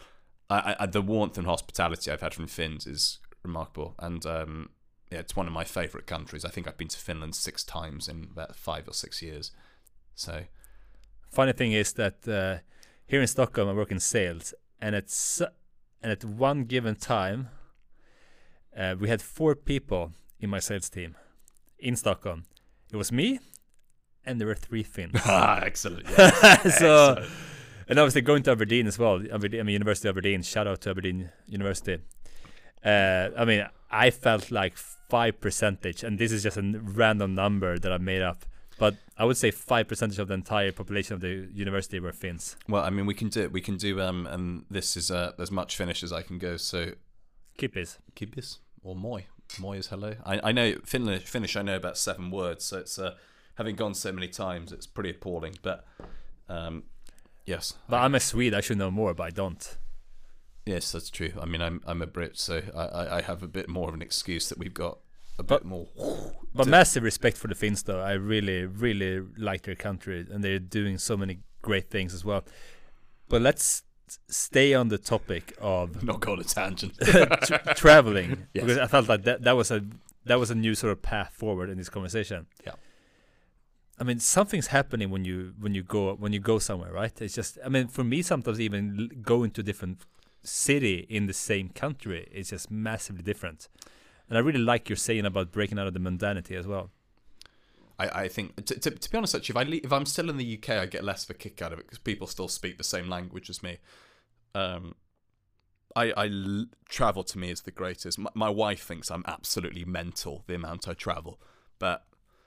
the warmth and hospitality I've had from Finns is remarkable, and yeah, it's one of my favourite countries. I think I've been to Finland 6 times in about 5 or 6 years. So, Funny thing is that here in Stockholm I work in sales, and at one given time we had 4 people in my sales team in Stockholm. It was me, and there were 3 Finns. Excellent. Yes. So, Excellent. and obviously going to Aberdeen as well. University of Aberdeen. Shout out to Aberdeen University. I mean, I felt like 5%, and this is just a random number that I made up. But I would say 5% of the entire population of the university were Finns. Well, I mean, we can do it. We can do and this is as much Finnish as I can go. So, Kippis. Kippis or moi. Moi is hello. I know Finnish. I know about 7 words. So it's having gone so many times, it's pretty appalling. But yes. But I'm a Swede. I should know more, but I don't. Yes, that's true. I mean, I'm a Brit, so I have a bit more of an excuse that we've got a bit more. But massive respect for the Finns, though. I really, really like their country, and they're doing so many great things as well. But let's stay on the topic of not go on a tangent. traveling, Yes. because I felt like that was a new sort of path forward in this conversation. Yeah. I mean, something's happening when you go somewhere, right? It's just, I mean, for me, sometimes even going to a different city in the same country is just massively different. And I really like your saying about breaking out of the mundanity as well. I think, to be honest, actually, if I'm still in the UK, I get less of a kick out of it because people still speak the same language as me. Travel to me is the greatest. My wife thinks I'm absolutely mental, the amount I travel. But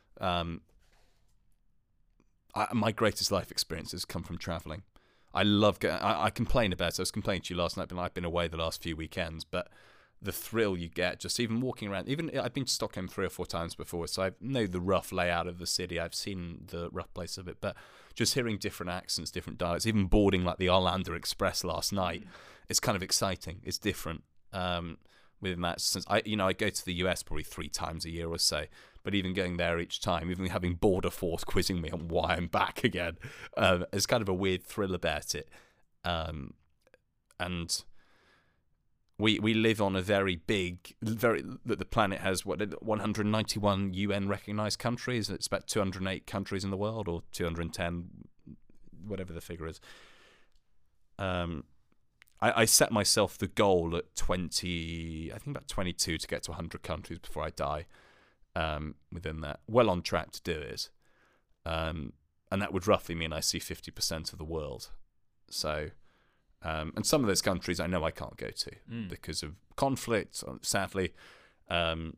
my greatest life experiences come from traveling. I love getting. I complain about it. I was complaining to you last night, but I've been away the last few weekends. But the thrill you get just even walking around. Even I've been to Stockholm 3 or 4 times before, so I know the rough layout of the city. I've seen the rough place of it. But just hearing different accents, different dialects, even boarding like the Arlanda Express last night, it's kind of exciting. It's different. Within that sense, I go to the US probably 3 times a year or so. But even going there each time, even having Border Force quizzing me on why I'm back again, there's kind of a weird thrill about it. And we live on a very big, the planet has 191 UN recognized countries. It's about 208 countries in the world, or 210, whatever the figure is. I set myself the goal at 20, I think about 22, to get to 100 countries before I die. Within that, well on track to do it, and that would roughly mean I see 50% of the world. So, and some of those countries I know I can't go to because of conflict, sadly. But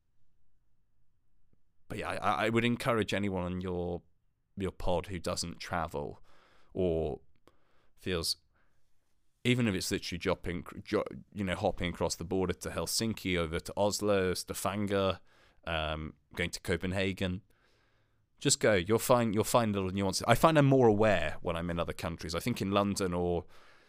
yeah, I would encourage anyone on your pod who doesn't travel or feels, even if it's literally hopping across the border to Helsinki, over to Oslo, Stavanger. Going to Copenhagen, just go. You'll find little nuances. I find I'm more aware when I'm in other countries. I think in London or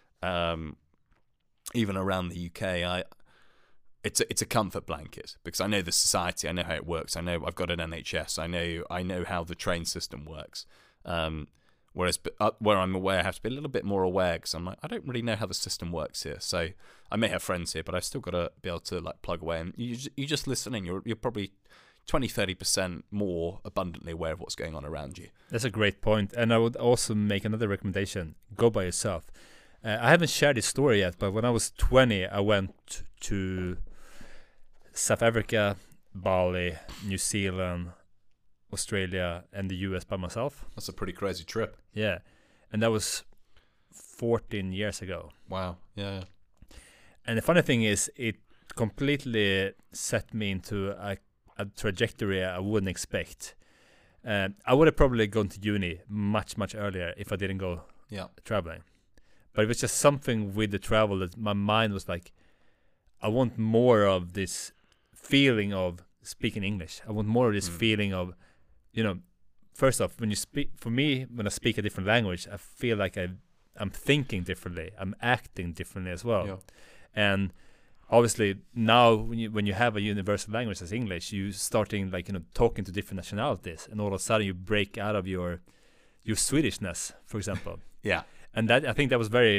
even around the UK, it's a comfort blanket because I know the society. I know how it works. I know I've got an NHS. I know how the train system works. Whereas where I'm aware, I have to be a little bit more aware because I'm like, I don't really know how the system works here. So I may have friends here, but I've still got to be able to like plug away. And you just listen in. You're probably 20-30% more abundantly aware of what's going on around you. That's a great point. And I would also make another recommendation. Go by yourself. I haven't shared this story yet, but when I was 20, I went to South Africa, Bali, New Zealand, Australia, and the US by myself. That's a pretty crazy trip. Yeah. And that was 14 years ago. Wow. Yeah. And the funny thing is, it completely set me into a trajectory I wouldn't expect. I would have probably gone to uni much, much earlier if I didn't go traveling. But it was just something with the travel that my mind was like, I want more of this feeling of speaking English. I want more of this feeling of, first off, when you speak, for me, when I speak a different language, I feel like I'm thinking differently. I'm acting differently as well. Yeah. And obviously now when you have a universal language as English, you starting talking to different nationalities, and all of a sudden you break out of your Swedishness, for example. Yeah. And that, I think that was very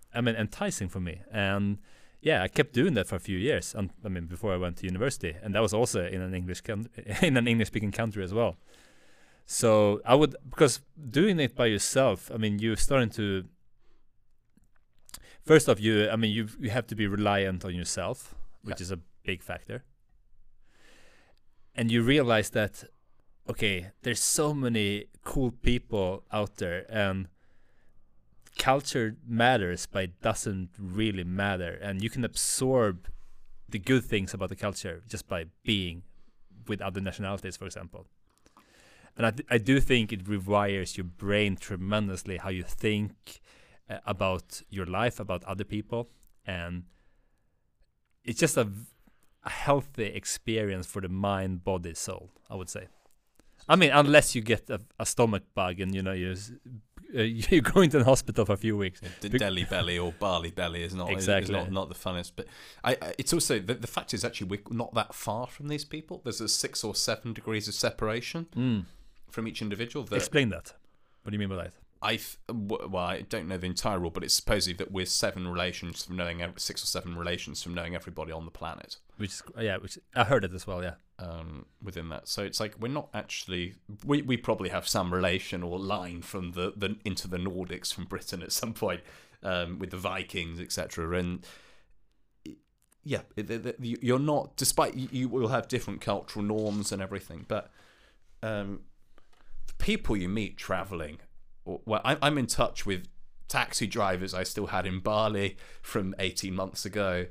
I mean, enticing for me. And yeah, I kept doing that for a few years. I mean, before I went to university, and that was also in an in an English-speaking country as well. So I would, because doing it by yourself, I mean, you're starting to. First off, you have to be reliant on yourself, which is a big factor. And you realize that, okay, there's so many cool people out there, and culture matters, but it doesn't really matter. And you can absorb the good things about the culture just by being with other nationalities, for example. And I do think it rewires your brain tremendously, how you think about your life, about other people. And it's just a healthy experience for the mind, body, soul, I would say. I mean, unless you get a stomach bug and, you know, you're going to the hospital for a few weeks. Delhi belly or Bali belly is not exactly is not the funnest. But it's also the fact is actually we're not that far from these people. There's a 6 or 7 degrees of separation from each individual. Explain that. What do you mean by that? I don't know the entire rule, but it's supposedly that we're 7 relations from knowing 6 or 7 relations from knowing everybody on the planet. Which I heard it as well, yeah. Within that, so it's like we're not actually. We probably have some relation or line from the into the Nordics from Britain at some point with the Vikings, etc. And yeah, you're not. Despite you will have different cultural norms and everything, but the people you meet traveling. Well, I'm in touch with taxi drivers I still had in Bali from 18 months ago.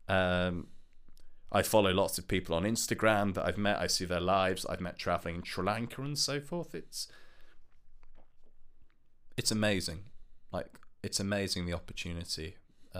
I follow lots of people on Instagram that I've met. I see their lives. I've met traveling in Sri Lanka and so forth. It's amazing. Like, it's amazing the opportunity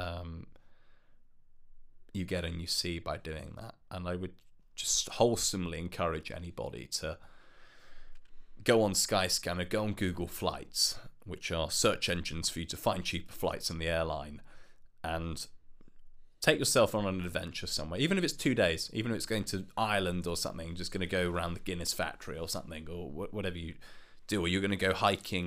you get and you see by doing that. And I would just wholesomely encourage anybody to go on Skyscanner, go on Google Flights, which are search engines for you to find cheaper flights in the airline, and take yourself on an adventure somewhere, even if it's 2 days, even if it's going to Ireland or something, just going to go around the Guinness factory or something, or whatever you do, or you're going to go hiking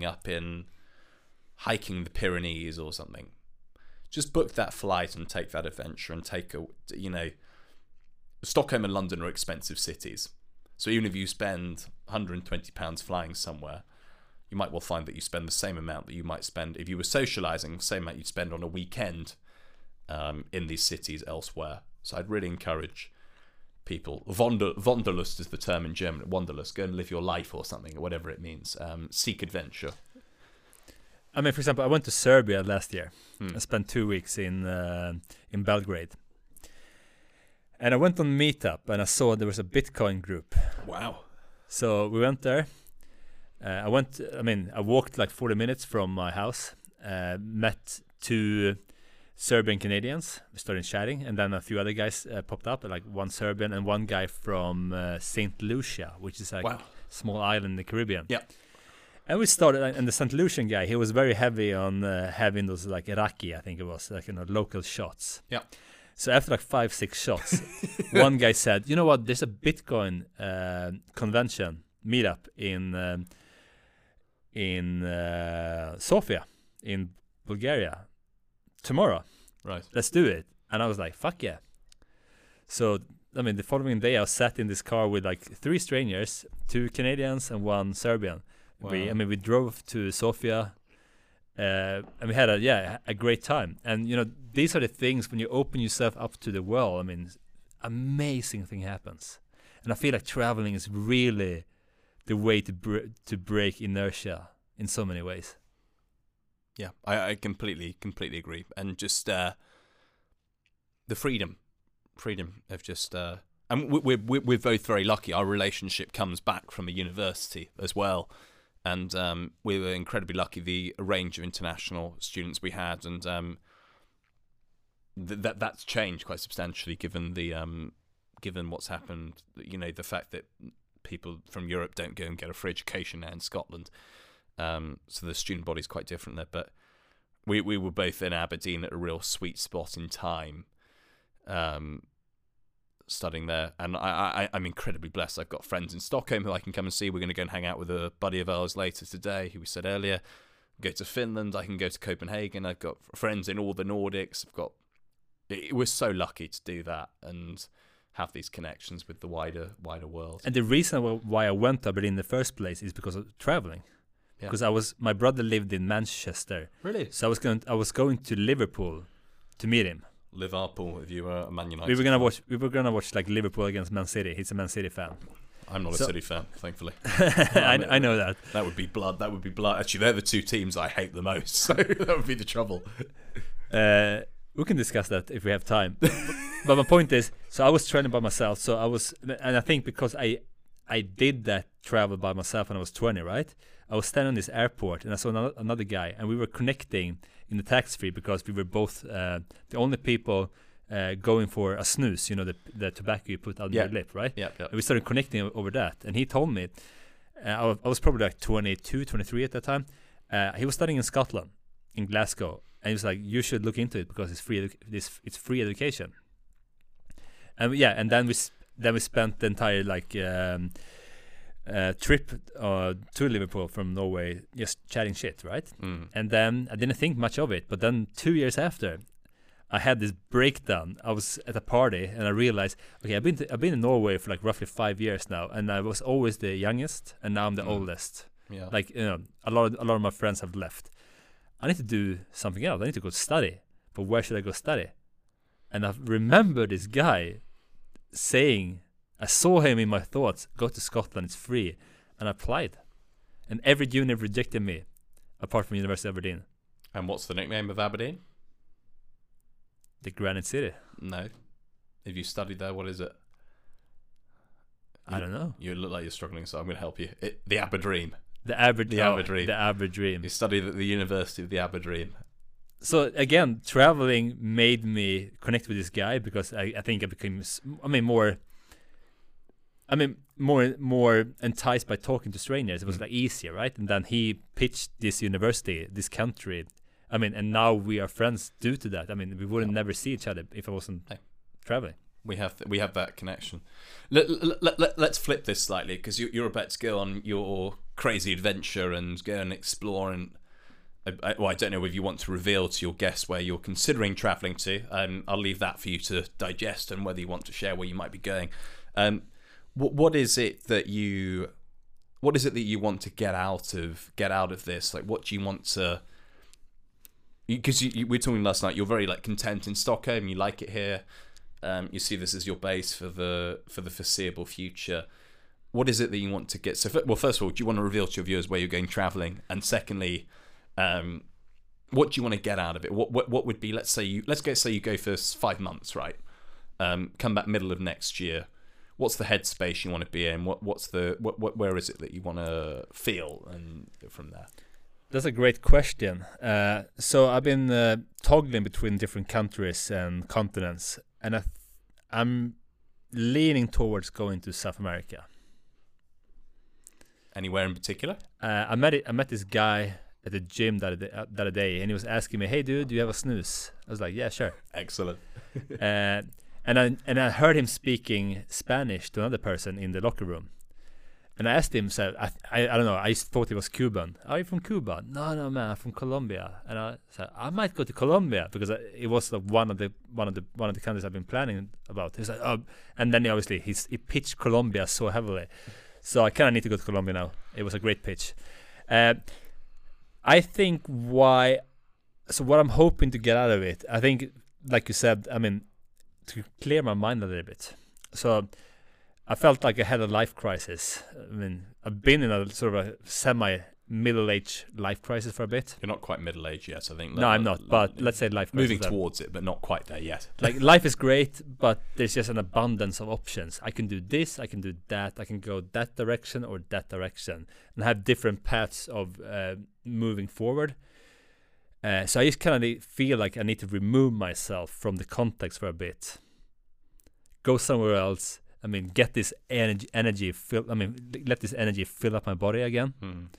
the Pyrenees or something. Just book that flight and take that adventure and Stockholm and London are expensive cities. So even if you spend £120 flying somewhere, you might well find that you spend the same amount that you might spend if you were socialising, the same amount you'd spend on a weekend in these cities elsewhere. So I'd really encourage people. Wanderlust is the term in German. Wanderlust, go and live your life or something, or whatever it means. Seek adventure. I mean, for example, I went to Serbia last year. I spent 2 weeks in Belgrade. And I went on Meetup and I saw there was a Bitcoin group. Wow. So we went there. I walked like 40 minutes from my house, met 2 Serbian Canadians. We started chatting, and then a few other guys popped up, like one Serbian and one guy from St. Lucia, which is a small island in the Caribbean. Yeah. And we started, and the St. Lucian guy, he was very heavy on having those like raki, I think it was, like, local shots. Yeah. So after like 5-6 shots, one guy said, "You know what? There's a Bitcoin convention meetup in Sofia, in Bulgaria, tomorrow. Right. Let's do it." And I was like, "Fuck yeah!" So I mean, the following day, I was sat in this car with like 3 strangers, 2 Canadians and 1 Serbian. Wow. We drove to Sofia. And we had a great time. And these are the things when you open yourself up to the world. I mean, amazing thing happens. And I feel like traveling is really the way to break inertia in so many ways. Yeah, I completely agree. And just the freedom of just and we're both very lucky. Our relationship comes back from a university as well. And we were incredibly lucky, the range of international students we had, and that's changed quite substantially given what's happened. The fact that people from Europe don't go and get a free education now in Scotland, so the student body's quite different there. But we were both in Aberdeen at a real sweet spot in time, studying there, and I'm incredibly blessed. I've got friends in Stockholm who I can come and see. We're going to go and hang out with a buddy of ours later today, who we said earlier. go to Finland. I can go to Copenhagen. I've got friends in all the Nordics. We're so lucky to do that and have these connections with the wider world. And the reason why I went to Aberdeen in the first place is because of traveling. Yeah. Because my brother lived in Manchester, Really? so I was going to Liverpool to meet him. Liverpool, if you were a Man United. We were gonna watch like Liverpool against Man City. He's a Man City fan. I'm not a City fan, thankfully. I know that. That would be blood. Actually, they're the two teams I hate the most. So that would be the trouble. We can discuss that if we have time. But my point is, so I was training by myself. So I think because I did that travel by myself when I was 20, right? I was standing on this airport and I saw another guy, and we were connecting in the tax-free because we were both the only people going for a snooze, the tobacco you put on your lip, right? Yeah. And we started connecting over that, and he told me, I was probably like 22, 23 at that time. He was studying in Scotland, in Glasgow, and he was like, "You should look into it because it's free. It's free education." And and then we spent the entire trip to Liverpool from Norway just chatting shit, right? And then I didn't think much of it, but then 2 years after, I had this breakdown. I was at a party and I realized, okay, I've been in Norway for like roughly 5 years now, and I was always the youngest, and now I'm the oldest. Yeah. Like a lot of my friends have left. I need to do something else. I need to go study, but where should I go study? And I remember this guy saying, I saw him in my thoughts, go to Scotland, it's free. And I applied. And every uni rejected me, apart from University of Aberdeen. And what's the nickname of Aberdeen? The Granite City. No. If you studied there, what is it? I don't know. You look like you're struggling, so I'm going to help you. The Aberdeen. The Aberdeen. The Aberdeen. You studied at the University of the Aberdeen. So again, traveling made me connect with this guy because I think I became, more enticed by talking to strangers. It was like easier, right? And then he pitched this university, this country. And now we are friends due to that. We wouldn't never see each other if I wasn't traveling. We have that connection. Let's flip this slightly, because you're about to go on your crazy adventure and go and explore. And I don't know if you want to reveal to your guests where you're considering traveling to. I'll leave that for you to digest, and whether you want to share where you might be going. What is it that you want to get out of this? Like, what do you want to? Because we were talking last night, you're very content in Stockholm. You like it here. You see this as your base for the foreseeable future. What is it that you want to get? So, first of all, do you want to reveal to your viewers where you're going traveling? And secondly, what do you want to get out of it? What would be? Let's say you go for 5 months, right? Come back middle of next year. What's the headspace you want to be in? Where is it that you want to feel, and from there? That's a great question. So I've been toggling between different countries and continents, and I'm leaning towards going to South America. Anywhere in particular? I met this guy at the gym the other day, and he was asking me, "Hey, dude, do you have a snooze?" I was like, "Yeah, sure." Excellent. And I heard him speaking Spanish to another person in the locker room. And I asked him, so I don't know, I thought he was Cuban. Are you from Cuba? No, man, I'm from Colombia. And I said, I might go to Colombia, because it was one of the countries I've been planning about. He's like, oh, and then obviously he pitched Colombia so heavily, so I kind of need to go to Colombia now. It was a great pitch. I think what I'm hoping to get out of it, I think, like you said, to clear my mind a little bit. So I felt like I had a life crisis. I've been in a sort of a semi-middle-aged life crisis for a bit. You're not quite middle-aged yet, I think. No, I'm not, but let's say life crisis. Moving towards it, but not quite there yet. Like, life is great, but there's just an abundance of options. I can do this, I can do that, I can go that direction or that direction, and have different paths of moving forward. So I just kind of feel like I need to remove myself from the context for a bit. Go somewhere else. Get this energy fill. Let this energy fill up my body again.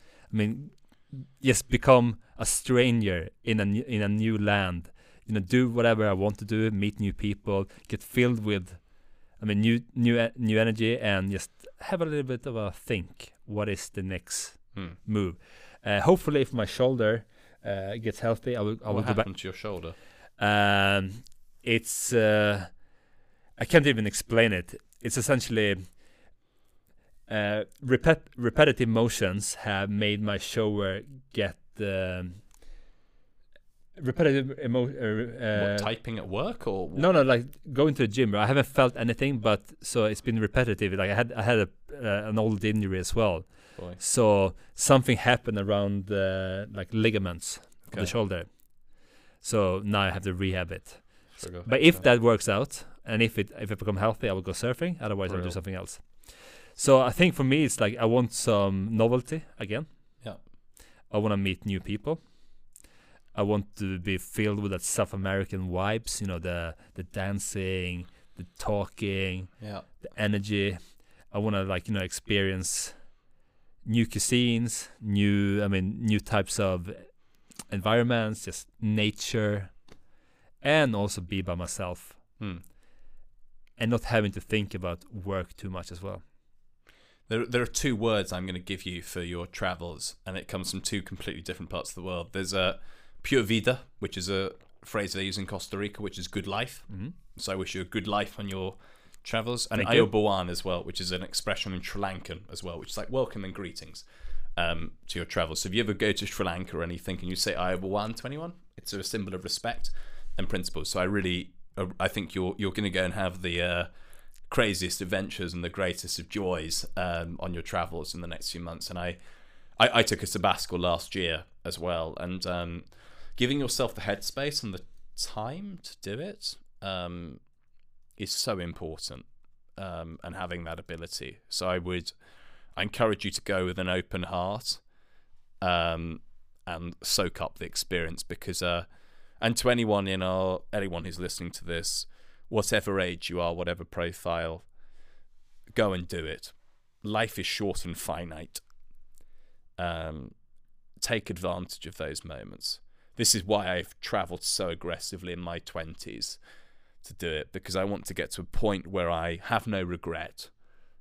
Just become a stranger in a new land. Do whatever I want to do. Meet new people. Get filled with, new energy, and just have a little bit of a think. What is the next move. Hopefully, if my shoulder gets healthy, I will What go back. happened to your shoulder? It's I can't even explain it. It's essentially repetitive motions have made my shoulder get repetitive What, typing at work or no, like going to the gym. I haven't felt anything, but so it's been repetitive. Like I had an old injury as well. Boy. So something happened around the like ligaments of the shoulder. So now I have to rehab it. Sugar. But if that works out, and if it become healthy, I will go surfing. Otherwise, I'll do Real. something else. So I think for me, it's like I want some novelty again. Yeah. I want to meet new people. I want to be filled with that South American vibes. You know, the dancing, the talking, Yeah. the energy. I want to experience new cuisines, new types of environments, just nature, and also be by myself and not having to think about work too much as well. There are two words I'm going to give you for your travels, and it comes from two completely different parts of the world. There's a pure vida, which is a phrase they use in Costa Rica, which is good life. So I wish you a good life on your travels. And Thank you. Ayabuan as well, which is an expression in Sri Lankan as well, which is like welcome and greetings to your travels. So if you ever go to Sri Lanka or anything and you say Ayabuan to anyone, it's a symbol of respect and principles. So I think you're going to go and have the craziest adventures and the greatest of joys on your travels in the next few months. And I took a sabbatical last year as well, and giving yourself the headspace and the time to do it is so important, and having that ability. So I encourage you to go with an open heart and soak up the experience, because and to anyone who's listening to this, whatever age you are, whatever profile, go and do it. Life is short and finite. Take advantage of those moments. This is why I've travelled so aggressively in my 20s to do it, because I want to get to a point where I have no regret.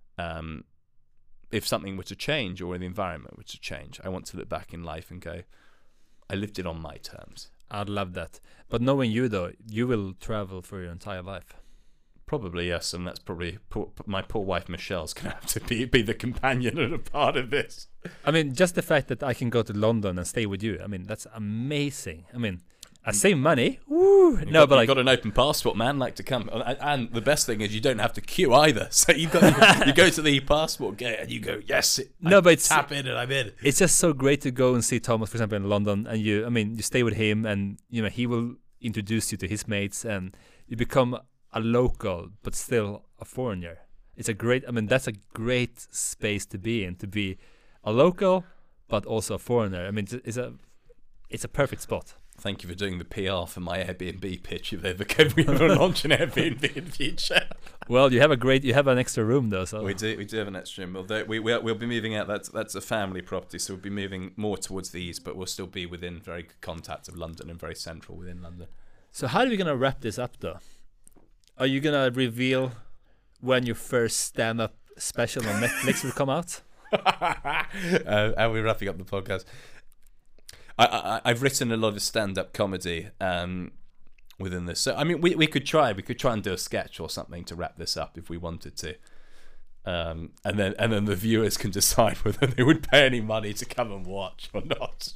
If something were to change or the environment were to change, I want to look back in life and go, I lived it on my terms. I'd love that. But knowing you, though, you will travel for your entire life. Probably, yes, and that's probably my poor wife Michelle's going to have to be the companion and a part of this. I mean, just the fact that I can go to London and stay with you, I mean, that's amazing. I mean, I save money. Woo! You've got an open passport, man. Like to come, and the best thing is you don't have to queue either. So you go to the passport gate and you go, yes. Tap in and I'm in. It's just so great to go and see Thomas, for example, in London, and you stay with him, and he will introduce you to his mates, and you become a local but still a foreigner. It's a great. I mean, that's a great space to be in, to be a local but also a foreigner. I mean, it's a perfect spot. Thank you for doing the PR for my Airbnb pitch. If we ever launch an Airbnb in the future. Well, you have an extra room though. So we do have an extra room. We'll be moving out. That's a family property, so we'll be moving more towards the east, but we'll still be within very good contact of London and very central within London. So how are we gonna wrap this up though? Are you gonna reveal when your first stand-up special on Netflix will come out? Are we wrapping up the podcast? I've written a lot of stand-up comedy within this, so I mean, we could try and do a sketch or something to wrap this up if we wanted to, and then the viewers can decide whether they would pay any money to come and watch or not.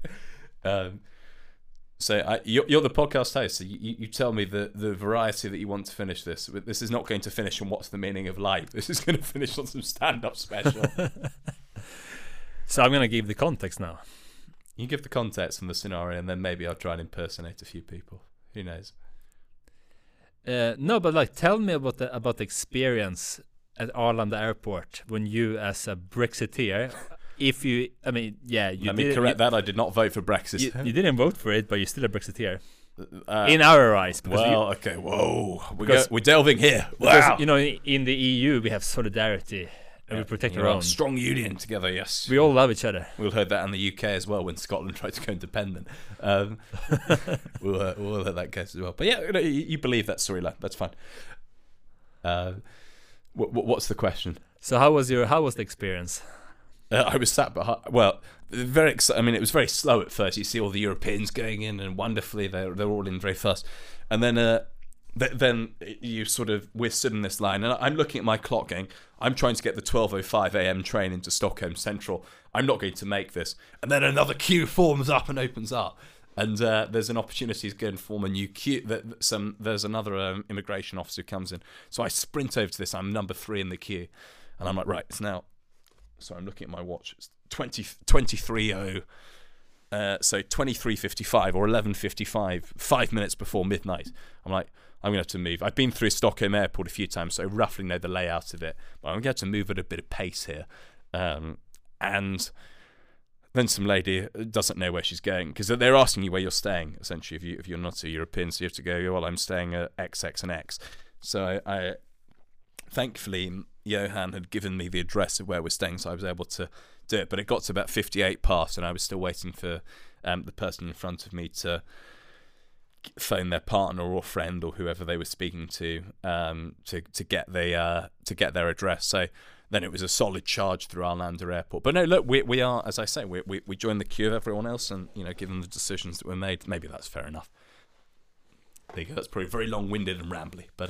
So you're the podcast host, so you tell me the variety that you want to finish this. This is not going to finish on what's the meaning of life. This is going to finish on some stand-up special. So I'm going to give the context now. You give the context and the scenario, and then maybe I'll try and impersonate a few people. Who knows? No, but tell me about the experience at Arlanda Airport when you, as a Brexiteer, Let me correct that. I did not vote for Brexit. You didn't vote for it, but you're still a Brexiteer. In our eyes. Okay, whoa. We're delving here. Wow. Because, in the EU, we have solidarity. And we protect our own. Strong union together, yes. We all love each other. We'll heard that in the UK as well when Scotland tried to go independent. We'll let that case as well. But yeah, you believe that storyline. That's fine. What's the question? So how was the experience? I was sat behind. Well, I mean, it was very slow at first. You see all the Europeans going in, and wonderfully they're all in very fast. And then you sort of, we're stood in this line, and I'm looking at my clock going, I'm trying to get the 12:05 a.m. train into Stockholm Central. I'm not going to make this. And then another queue forms up and opens up. And there's an opportunity to go and form a new queue. There's another immigration officer who comes in. So I sprint over to this. I'm number 3 in the queue. And I'm like, right, it's now... Sorry, I'm looking at my watch. It's 23:00. So 23:55 or 11:55, 5 minutes before midnight. I'm like, I'm going to have to move. I've been through Stockholm Airport a few times, so I roughly know the layout of it. But I'm going to have to move at a bit of pace here. And then some lady doesn't know where she's going, because they're asking you where you're staying, essentially, if you're not a European. So you have to go, well, I'm staying at XX and X. So I thankfully, Johan had given me the address of where we're staying, so I was able to do it. But it got to about 58 past, and I was still waiting for the person in front of me to phone their partner or friend or whoever they were speaking to get their address. So then it was a solid charge through Arlanda Airport. But no, look, we are, as I say, we joined the queue of everyone else, and given the decisions that were made, maybe that's fair enough. There you go. That's probably very long-winded and rambly, but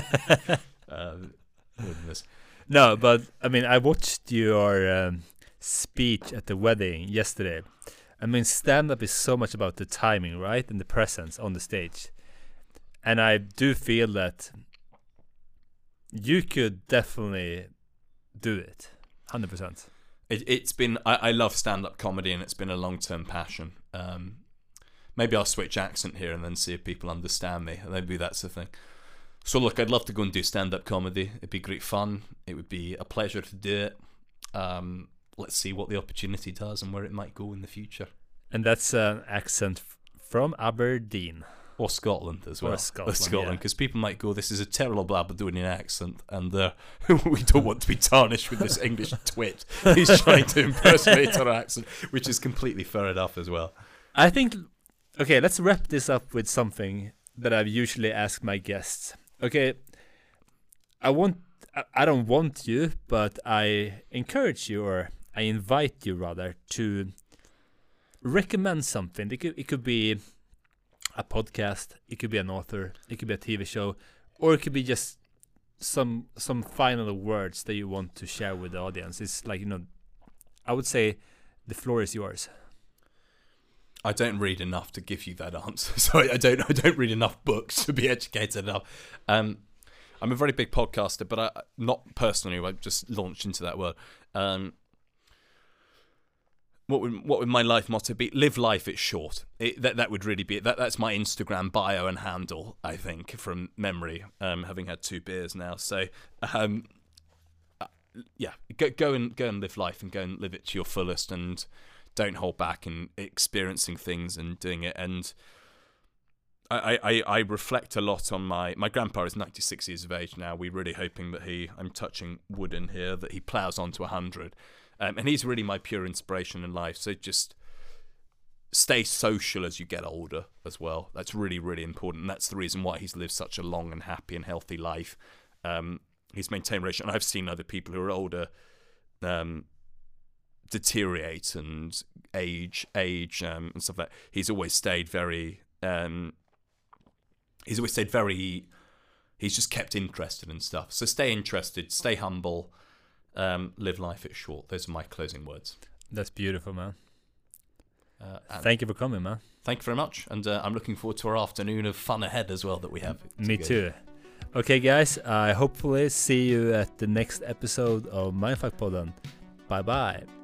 no, but I mean, I watched your speech at the wedding yesterday. I mean, stand-up is so much about the timing, right, and the presence on the stage. And I do feel that you could definitely do it, 100%. It's been, I love stand-up comedy, and it's been a long-term passion. Maybe I'll switch accent here and then see if people understand me. Maybe that's the thing. So look, I'd love to go and do stand-up comedy. It'd be great fun. It would be a pleasure to do it. Let's see what the opportunity does and where it might go in the future. And that's an accent from Aberdeen. Or Scotland as well. Or Scotland, because people might go, this is a terrible Aberdonian accent, and we don't want to be tarnished with this English twit. He's trying to impersonate our accent, which is completely fair enough as well. I think, okay, let's wrap this up with something that I've usually asked my guests. Okay, I don't want you, but I encourage you, or I invite you rather, to recommend something. It could be a podcast, it could be an author, it could be a TV show, or it could be just some final words that you want to share with the audience. It's like, I would say the floor is yours. I don't read enough to give you that answer. So I don't read enough books to be educated enough. I'm a very big podcaster, but I not personally. I just launched into that world. What would my life motto be? Live life, it's short. That would really be it. That's my Instagram bio and handle, I think, from memory, having had 2 beers now. So, yeah, go and live life, and go and live it to your fullest, and don't hold back in experiencing things and doing it. And I reflect a lot on my grandpa is 96 years of age now. We're really hoping that I'm touching wood in here, that he plows on to 100. And he's really my pure inspiration in life. So just stay social as you get older as well. That's really, really important. And that's the reason why he's lived such a long and happy and healthy life. He's maintained relations. And I've seen other people who are older deteriorate and age and stuff like that. He's always stayed very... he's just kept interested in stuff. So stay interested, stay humble, live life it's short. Those are my closing words. That's beautiful, man. Thank you for coming, man. Thank you very much, and I'm looking forward to our afternoon of fun ahead as well that we have. Me too. Okay, guys, I hopefully see you at the next episode of Mindfuck Podden. Bye-bye.